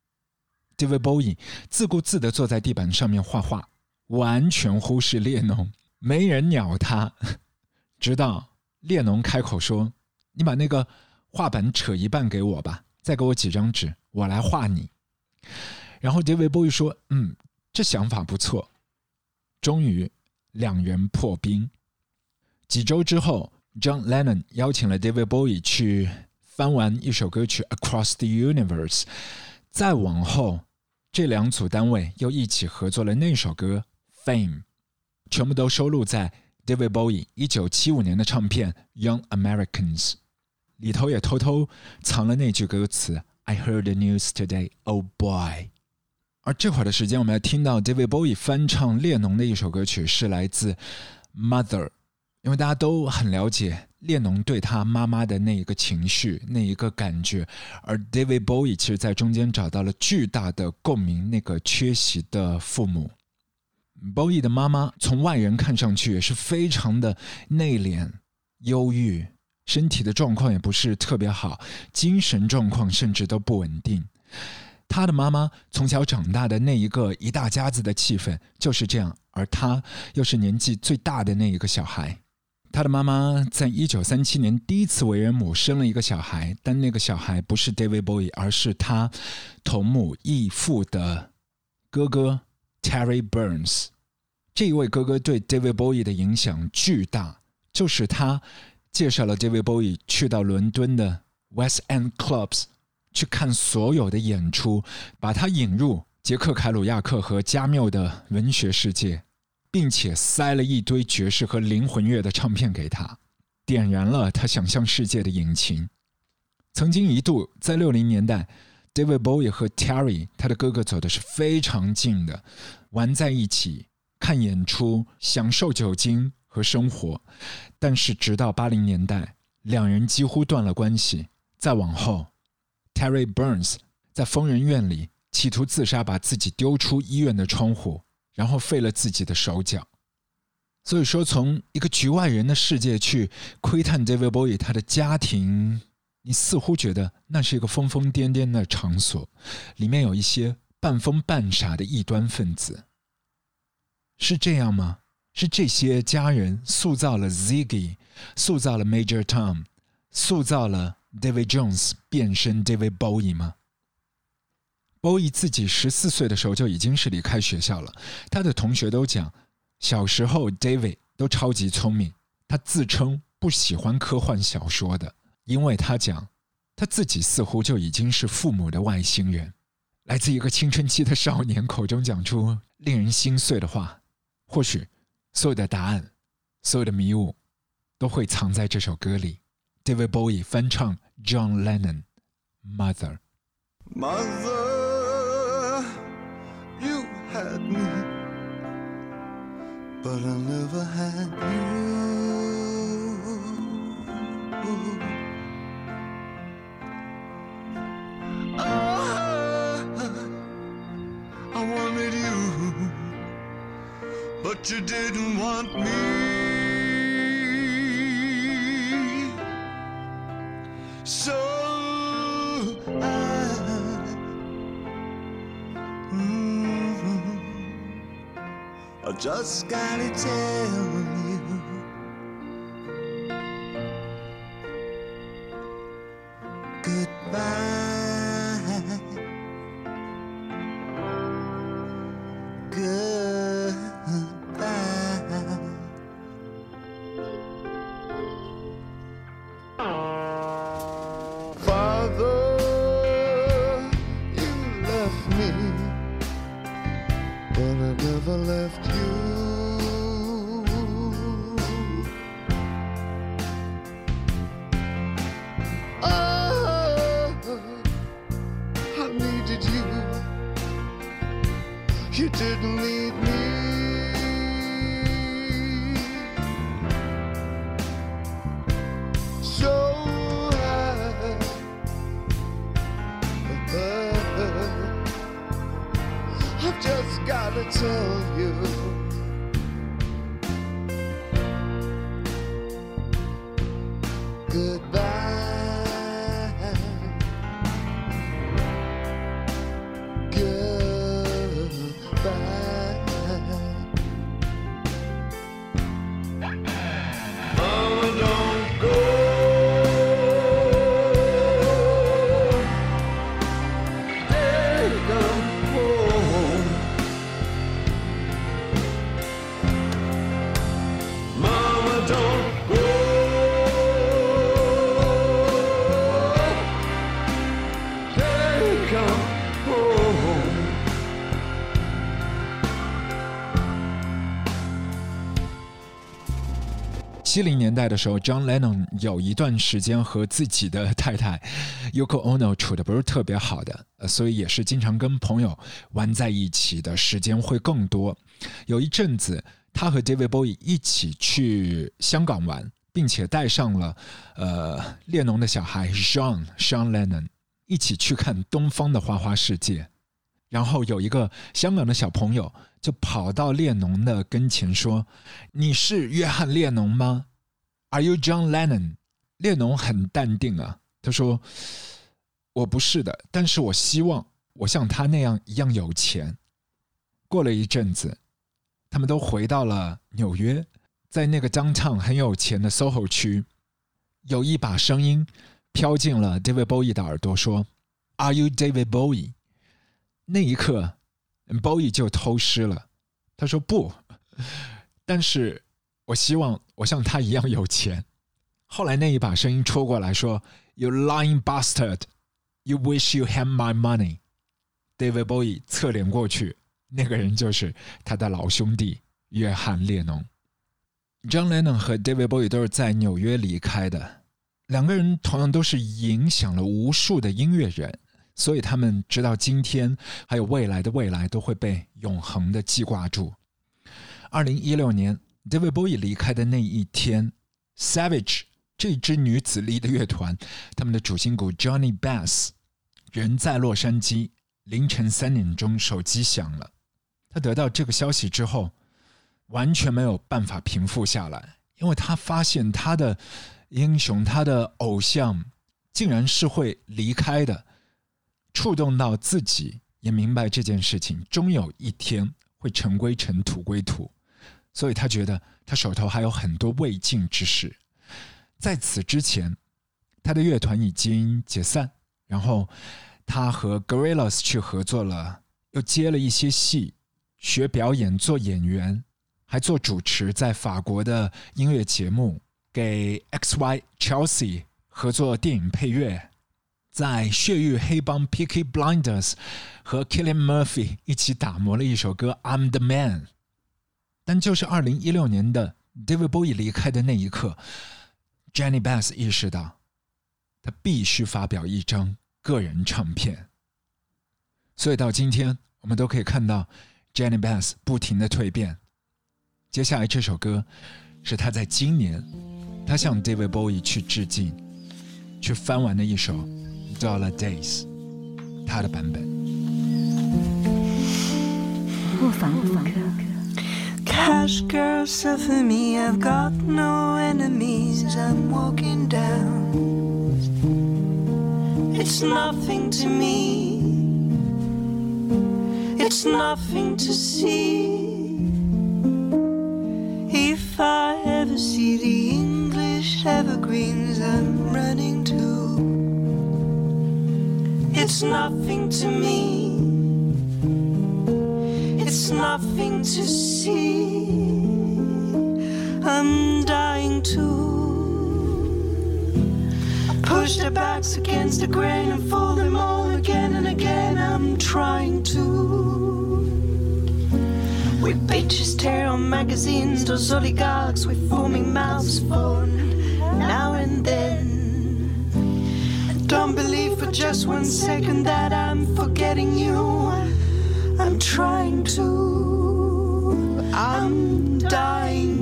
David Bowie 自顾自地坐在地板上面画画，完全忽视列侬，没人鸟他，直到列侬开口说，你把那个画板扯一半给我吧，再给我几张纸，我来画你。然后 David Bowie 说，这想法不错。终于2人破冰。几周之后， John Lennon 邀请了 David Bowie 去翻完一首歌曲 Across the Universe， 再往后这2组单位又一起合作了那首歌 Fame， 全部都收录在 David Bowie 1975年的唱片 Young Americans， 里头也偷偷藏了那句歌词 I heard the news today, oh boy。 而这会儿的时间我们要听到 David Bowie 翻唱列侬的一首歌曲，是来自 Mother， 因为大家都很了解列侬对他妈妈的那一个情绪，那一个感觉，而 David Bowie 其实在中间找到了巨大的共鸣，那个缺席的父母。 Bowie 的妈妈从外人看上去也是非常的内敛忧郁，身体的状况也不是特别好，精神状况甚至都不稳定。他的妈妈从小长大的那一个一大家子的气氛就是这样，而他又是年纪最大的那一个小孩。他的妈妈在1937年第一次为人母，生了一个小孩，但那个小孩不是 David Bowie， 而是他同母异父的哥哥 Terry Burns。 这一位哥哥对 David Bowie 的影响巨大，就是他介绍了 David Bowie 去到伦敦的 West End Clubs 去看所有的演出，把他引入杰克凯鲁亚克和加缪的文学世界，并且塞了一堆爵士和灵魂乐的唱片给他，点燃了他想象世界的引擎。曾经一度在60年代， David Bowie 和 Terry 他的哥哥走的是非常近的，玩在一起，看演出，享受酒精和生活。但是直到80年代，2人几乎断了关系。再往后， Terry Burns 在疯人院里企图自杀，把自己丢出医院的窗户，然后废了自己的手脚。所以说，从一个局外人的世界去窥探 David Bowie 他的家庭，你似乎觉得那是一个疯疯癫癫的场所，里面有一些半疯半傻的异端分子。是这样吗？是这些家人塑造了 Ziggy， 塑造了 Major Tom， 塑造了 David Jones 变身 David Bowie 吗？ Bowie 自己14岁的时候就已经是离开学校了，他的同学都讲，小时候 David 都超级聪明，他自称不喜欢科幻小说的，因为他讲他自己似乎就已经是父母的外星人。来自一个青春期的少年口中讲出令人心碎的话，或许所有的答案，所有的迷雾都会藏在这首歌里。 David Bowie 翻唱 John Lennon Mother。 Mother, you had me, but I never had you. I wanted you, but you didn't want me. So I just gotta tell you, goodbye, goodbye. Father, you left me, but I never left you. Oh, didn't lead me. So high. I've just gotta tell you, goodbye. 70年代的时候 John Lennon 有一段时间和自己的太太 Yoko Ono 处得不是特别好的，所以也是经常跟朋友玩在一起的时间会更多。有一阵子他和 David Bowie 一起去香港玩，并且带上了列侬的小孩 Sean Lennon 一起去看东方的花花世界。然后有一个香港的小朋友就跑到列侬的跟前说，你是约翰列侬吗？ Are you John Lennon？ 列侬很淡定啊，他说我不是的，但是我希望我像他那样一样有钱。过了一阵子他们都回到了纽约，在那个 downtown 很有钱的 SoHo 区，有一把声音飘进了 David Bowie 的耳朵说 Are you David Bowie？ 那一刻 Bowie 就偷师了，他说不，但是我希望我像他一样有钱。后来那一把声音戳过来说 You lying bastard， You wish you had my money。 David Bowie 侧脸过去，那个人就是他的老兄弟约翰列侬。 John Lennon 和 David Bowie 都是在纽约离开的，两个人同样都是影响了无数的音乐人，所以他们直到今天还有未来的未来都会被永恒的记挂住。2016年 David Bowie 离开的那一天， Savage 这支女子力的乐团，他们的主心骨 Johnny Bass 人在洛杉矶，凌晨3点钟手机响了。他得到这个消息之后完全没有办法平复下来，因为他发现他的英雄，他的偶像竟然是会离开的，触动到自己，也明白这件事情终有一天会尘归尘，土归土，所以他觉得他手头还有很多未尽之事。在此之前他的乐团已经解散，然后他和 Gorillaz 去合作了，又接了一些戏，学表演，做演员，还做主持，在法国的音乐节目，给 XY Chelsea 合作电影配乐，在血域黑帮 Peaky Blinders 和 Cillian Murphy 一起打磨了一首歌 I'm the Man。 但就是2016年的 David Bowie 离开的那一刻， Johnny Bass 意识到他必须发表一张个人唱片。所以到今天我们都可以看到 Johnny Bass 不停的蜕变。接下来这首歌是他在今年他向 David Bowie 去致敬，去翻完的一首 Dollar Days 他的版本。 不妨不妨 Cash girl, suffer me, I've got no enemies, I'm walking down. It's nothing to me, it's nothing to see. If I ever see the English evergreens I'm running to, it's nothing to me, it's nothing to see. I'm dying to push their backs against the grain and fold them all again and again. I'm trying to. We bitches tear on magazines, those oligarchs with foaming mouths falling now and then. Don't believe for just 1 second that I'm forgetting you. I'm trying to, I'm dying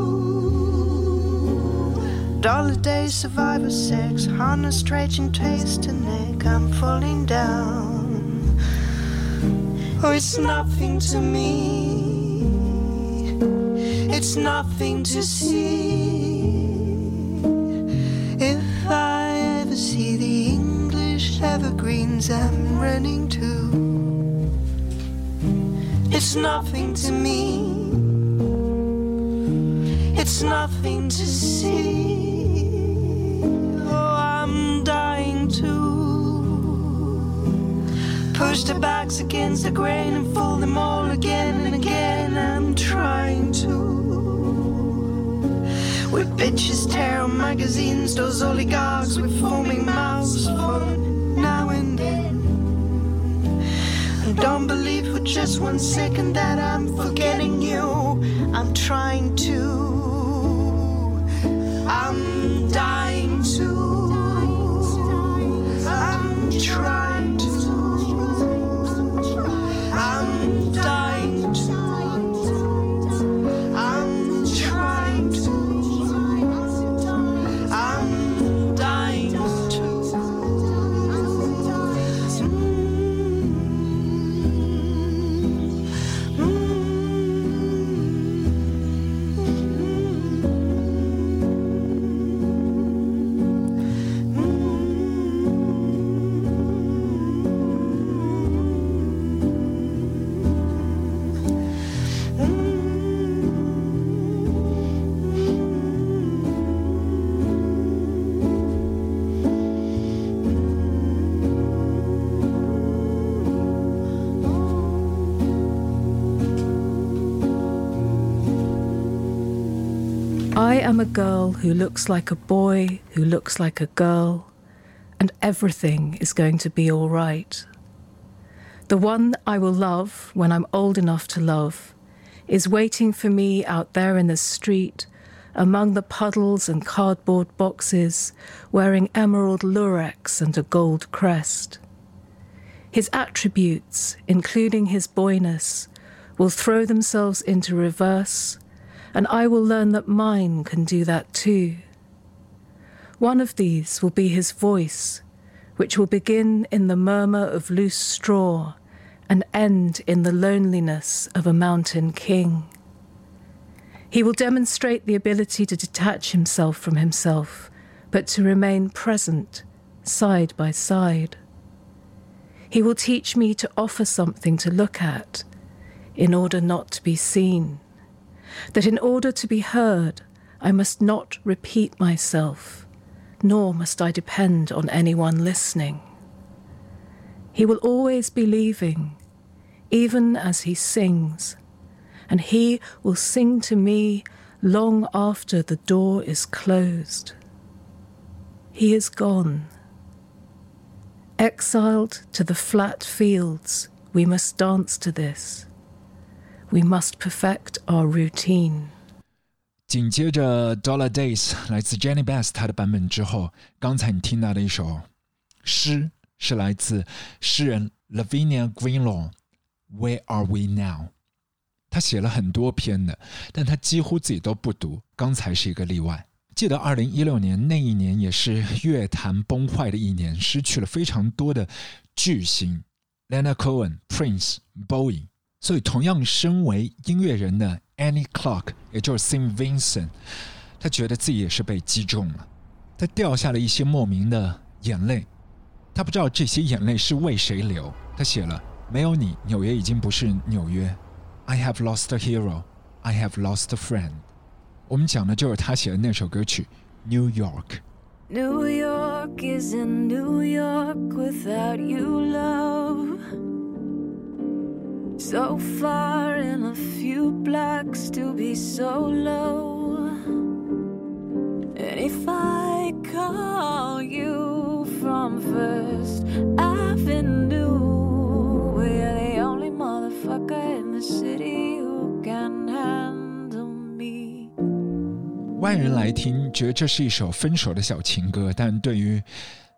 to. Dollar days, survivor sex, harness, stretching, taste and neck. I'm falling down. Oh, it's nothing to me. It's nothing to see. If I ever see the English evergreens I'm running to, it's nothing to me. It's nothing to see. Oh, I'm dying to push the backs against the grain and fold them all again and again. I'm trying to. With bitches tear on magazines, those oligarchs with foaming mouths for now and then. And don't believe for just 1 second that I'm forgetting you. I'm trying to. I'm dying to. I'm trying to. I'm dying to. I'm trying to. I'm dying to. I am a girl who looks like a boy, who looks like a girl, and everything is going to be all right. The one I will love when I'm old enough to love is waiting for me out there in the street, among the puddles and cardboard boxes, wearing emerald lurex and a gold crest. His attributes, including his boyness, will throw themselves into reverse, and I will learn that mine can do that too. One of these will be his voice, which will begin in the murmur of loose straw and end in the loneliness of a mountain king. He will demonstrate the ability to detach himself from himself, but to remain present, side by side. He will teach me to offer something to look at, in order not to be seen. That in order to be heard, I must not repeat myself, nor must I depend on anyone listening. He will always be leaving, even as he sings, and he will sing to me long after the door is closed. He is gone. Exiled to the flat fields, we must dance to this. We must perfect our routine. 紧接着 Dollar Days 来自 Jenny Beth 她的版本之后，刚才你听到的一首诗是来自诗人 Lavinia Greenlaw Where Are We Now。 他写了很多篇的，但他几乎自己都不读，刚才是一个例外。记得2016年那一年也是乐坛崩坏的一年，失去了非常多的巨星 Leonard Cohen、Prince、Bowie。所以同样身为音乐人的 Annie Clark 也就是 St. Vincent， 他觉得自己也是被击中了，他掉下了一些莫名的眼泪，他不知道这些眼泪是为谁流。他写了没有你，纽约已经不是纽约， I have lost a hero, I have lost a friend。 我们讲的就是他写的那首歌曲 New York。 New York isn't New York without you, love. So far in a few blocks to be so low. And if I call you from First Avenue, we're the only motherfucker in the city who can handle me. 外人来听觉得这是一首分手的小情歌，但对于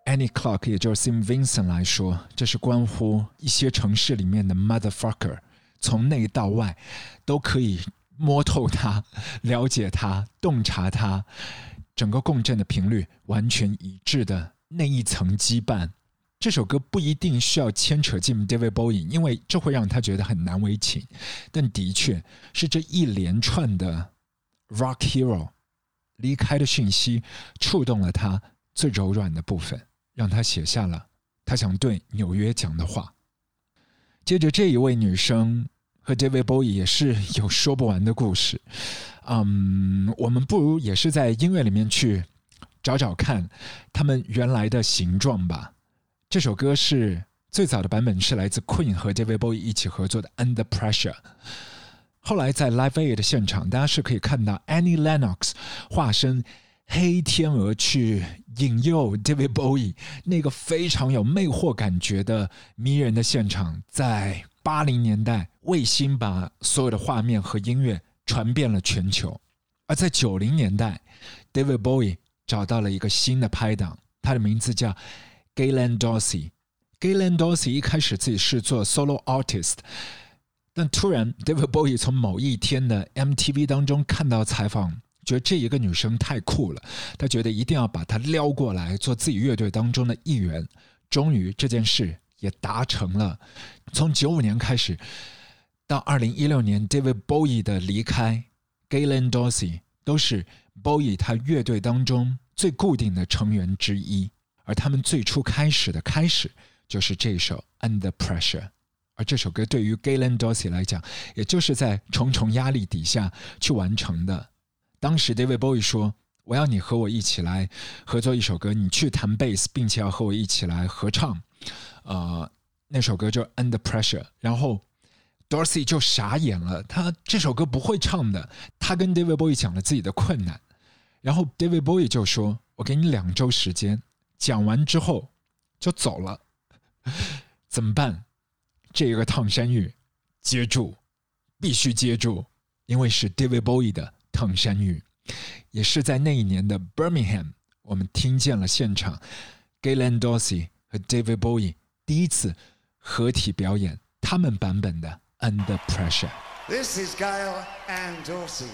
Annie Clark 也就是 St. Vincent 来说，这是关乎一些城市里面的 motherfucker， 从内到外都可以摸透它，了解它，洞察它，整个共振的频率完全一致的那一层羁绊。这首歌不一定需要牵扯进 David Bowie， 因为这会让他觉得很难为情，但的确是这一连串的 Rock Hero 离开的讯息触动了他最柔软的部分，让他写下了他想对纽约讲的话。接着这一位女生和 David Bowie 也是有说不完的故事，我们不如也是在音乐里面去找找看他们原来的形状吧。这首歌是最早的版本是来自 Queen 和 David Bowie 一起合作的 Under Pressure， 后来在 Live Aid 的现场，大家是可以看到 Annie Lennox 化身黑天鹅去引诱 David Bowie 那个非常有魅惑感觉的迷人的现场，在80年代卫星把所有的画面和音乐传遍了全球。而在90年代 David Bowie 找到了一个新的拍档，他的名字叫 Gaylen Dorsey。Gaylen Dorsey 一开始自己是做 solo artist， 但突然 David Bowie 从某一天的 MTV 当中看到采访，觉得这一个女生太酷了，他觉得一定要把她撩过来做自己乐队当中的一员。终于这件事也达成了。从95年开始到2016年 David Bowie 的离开， Gaylen Dorsey 都是 Bowie 他乐队当中最固定的成员之一，而他们最初开始就是这首 Under Pressure。 而这首歌对于 Gaylen Dorsey 来讲，也就是在重重压力底下去完成的。当时 David Bowie 说，我要你和我一起来合作一首歌，你去弹贝斯，并且要和我一起来合唱那首歌就 Under Pressure。 然后 Dorsey 就傻眼了，他这首歌不会唱的。他跟 David Bowie 讲了自己的困难，然后 David Bowie 就说，我给你2周时间，讲完之后就走了。怎么办？这个烫山芋接住，必须接住，因为是 David Bowie 的烫山芋。也是在那一年的 Birmingham， 我们听见了现场 Gaylen Dorsey 和 David Bowie 第一次合体表演他们版本的 Under Pressure。 This is Gayle and Dorsey.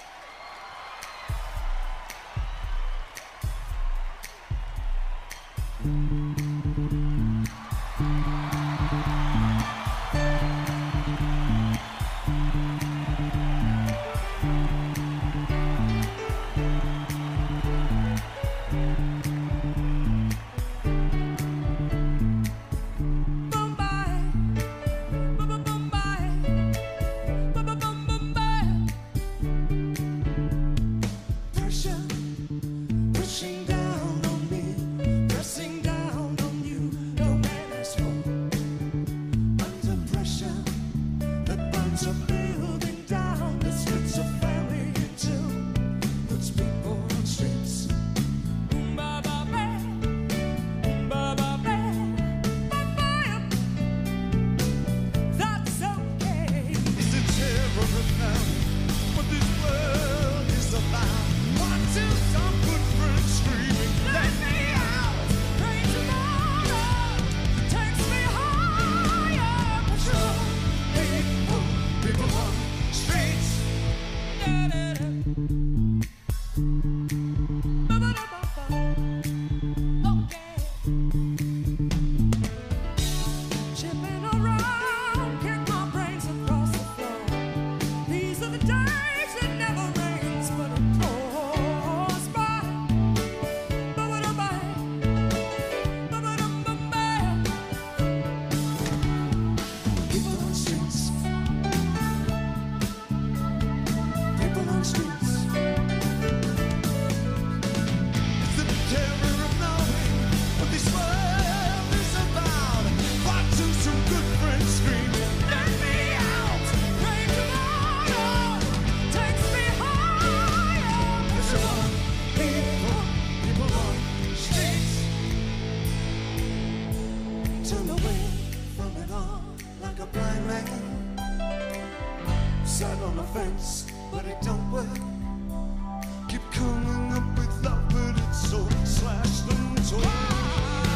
Sat on the fence, but it don't work. Keep coming up with love, but it's so slashed and torn.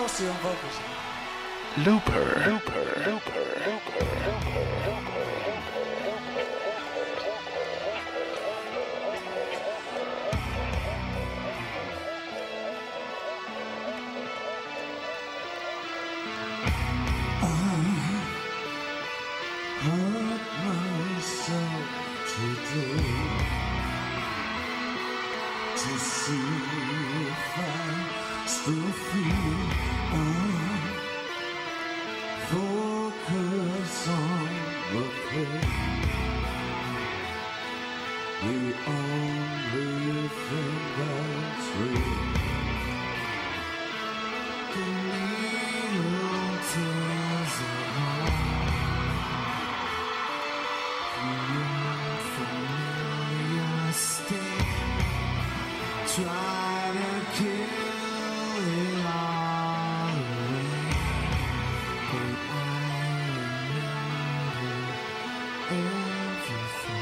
glossy on vocals. Looper. Hurt myself today to see if I still feel. Focus on the pain. The only thing that's real. The needle tears are hard. Try to kill it all away, but I remember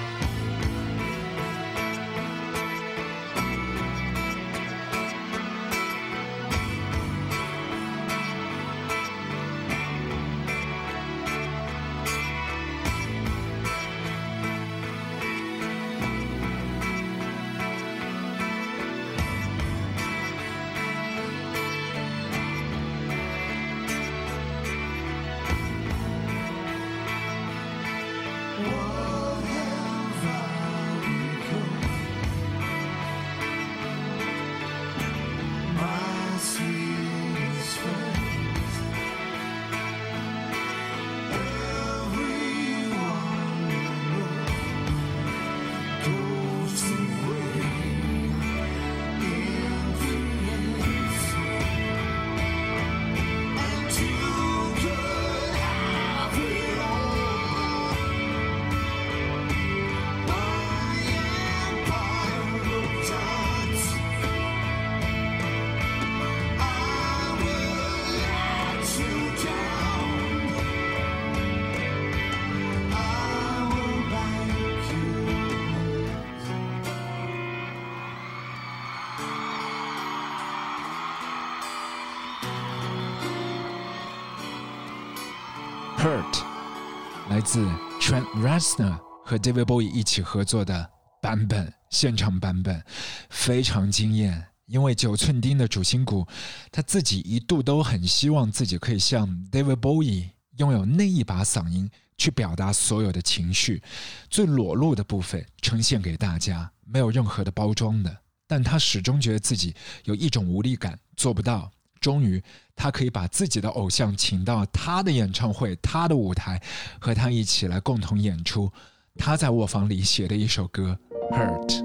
Hurt 来自 Trent Reznor 和 David Bowie 一起合作的版本，现场版本非常惊艳。因为9寸钉的主心骨，他自己一度都很希望自己可以像 David Bowie 拥有那一把嗓音去表达所有的情绪，最裸露的部分呈现给大家，没有任何的包装的。但他始终觉得自己有一种无力感，做不到。终于他可以把自己的偶像请到他的演唱会，他的舞台，和他一起来共同演出他在卧房里写的一首歌 Hurt。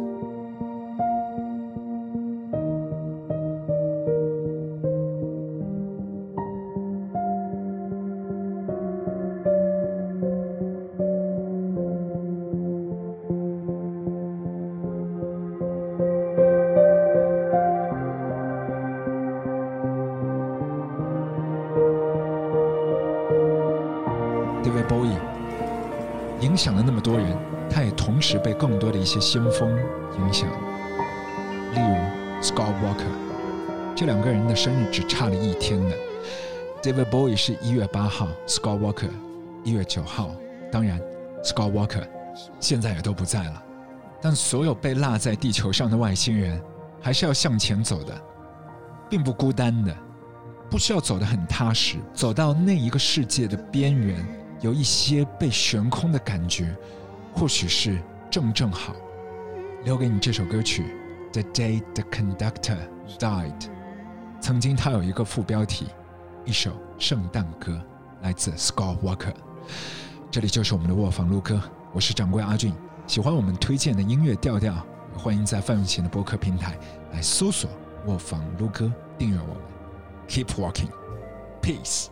David Bowie 影响了那么多人，他也同时被更多的一些先锋影响，例如 Scott Walker， 这两个人的生日只差了一天的。David Bowie 是1月8号 ，Scott Walker 1月9号。当然 ，Scott Walker 现在也都不在了。但所有被落在地球上的外星人，还是要向前走的，并不孤单的，不需要走得很踏实，走到那一个世界的边缘。有一些被悬空的感觉，或许是正好。留给你这首歌曲 The Day the Conductor Died， 曾经它有一个副标题，一首圣诞歌，来自 Scott Walker。 这里就是我们的卧房录歌，我是掌柜阿俊。喜欢我们推荐的音乐调调，欢迎在范永贤的播客平台来搜索卧房录歌，订阅我们。 Keep walking, peace。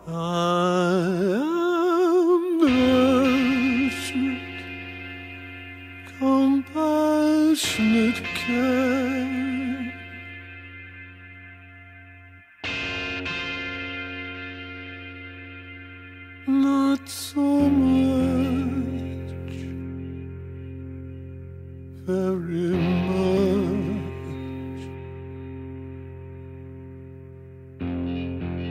Compassionate care, not so much, very much.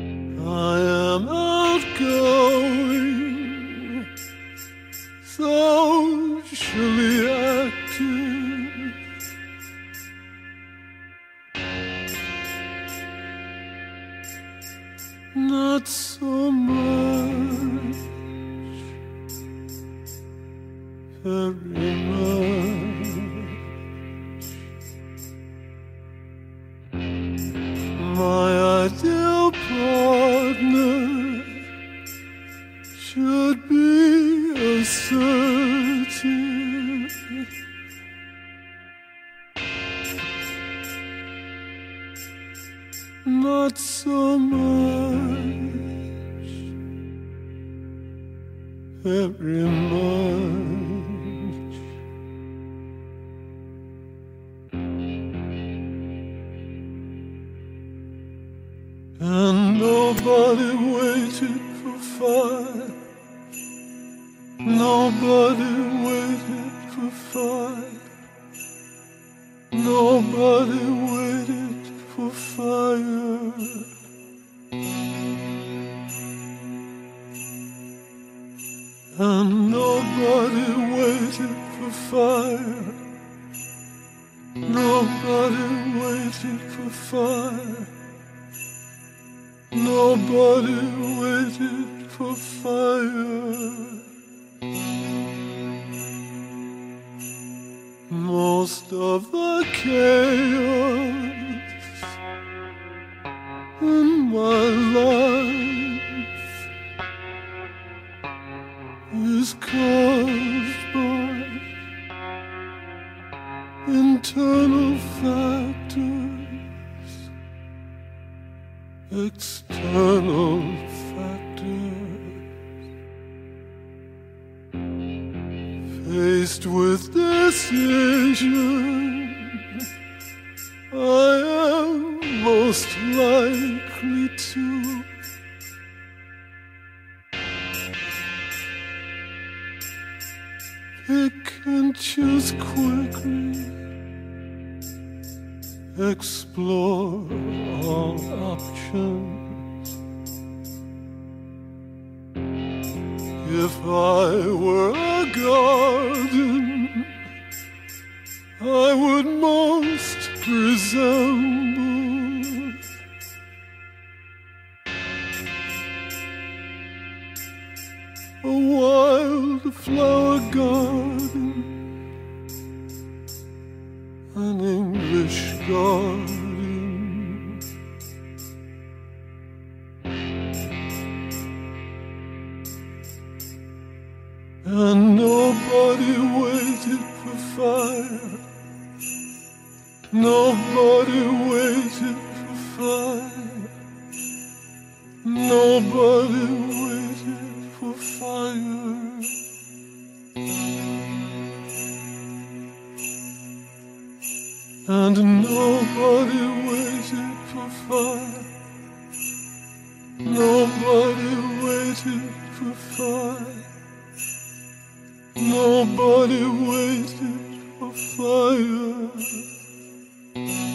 not so much, very much. My ideal partner should be assertive, not so much, very much. And nobody waited for fire. Nobody waited for fire. Nobody waited for fire. And nobody waited for fire. Nobody waited for fire. Nobody waited for fire. Most of the chaos in my life is caused by internal factors, external factors. Faced with decision, I am most likely to pick and choose quickly, explore all options. If I were a garden, I would most resemble a wildflower garden, an English garden. And nobody waited for fire. Nobody waited for fire. Nobody waited for fire. And nobody waited for fire. Nobody waited for fire. Nobody waited for fire.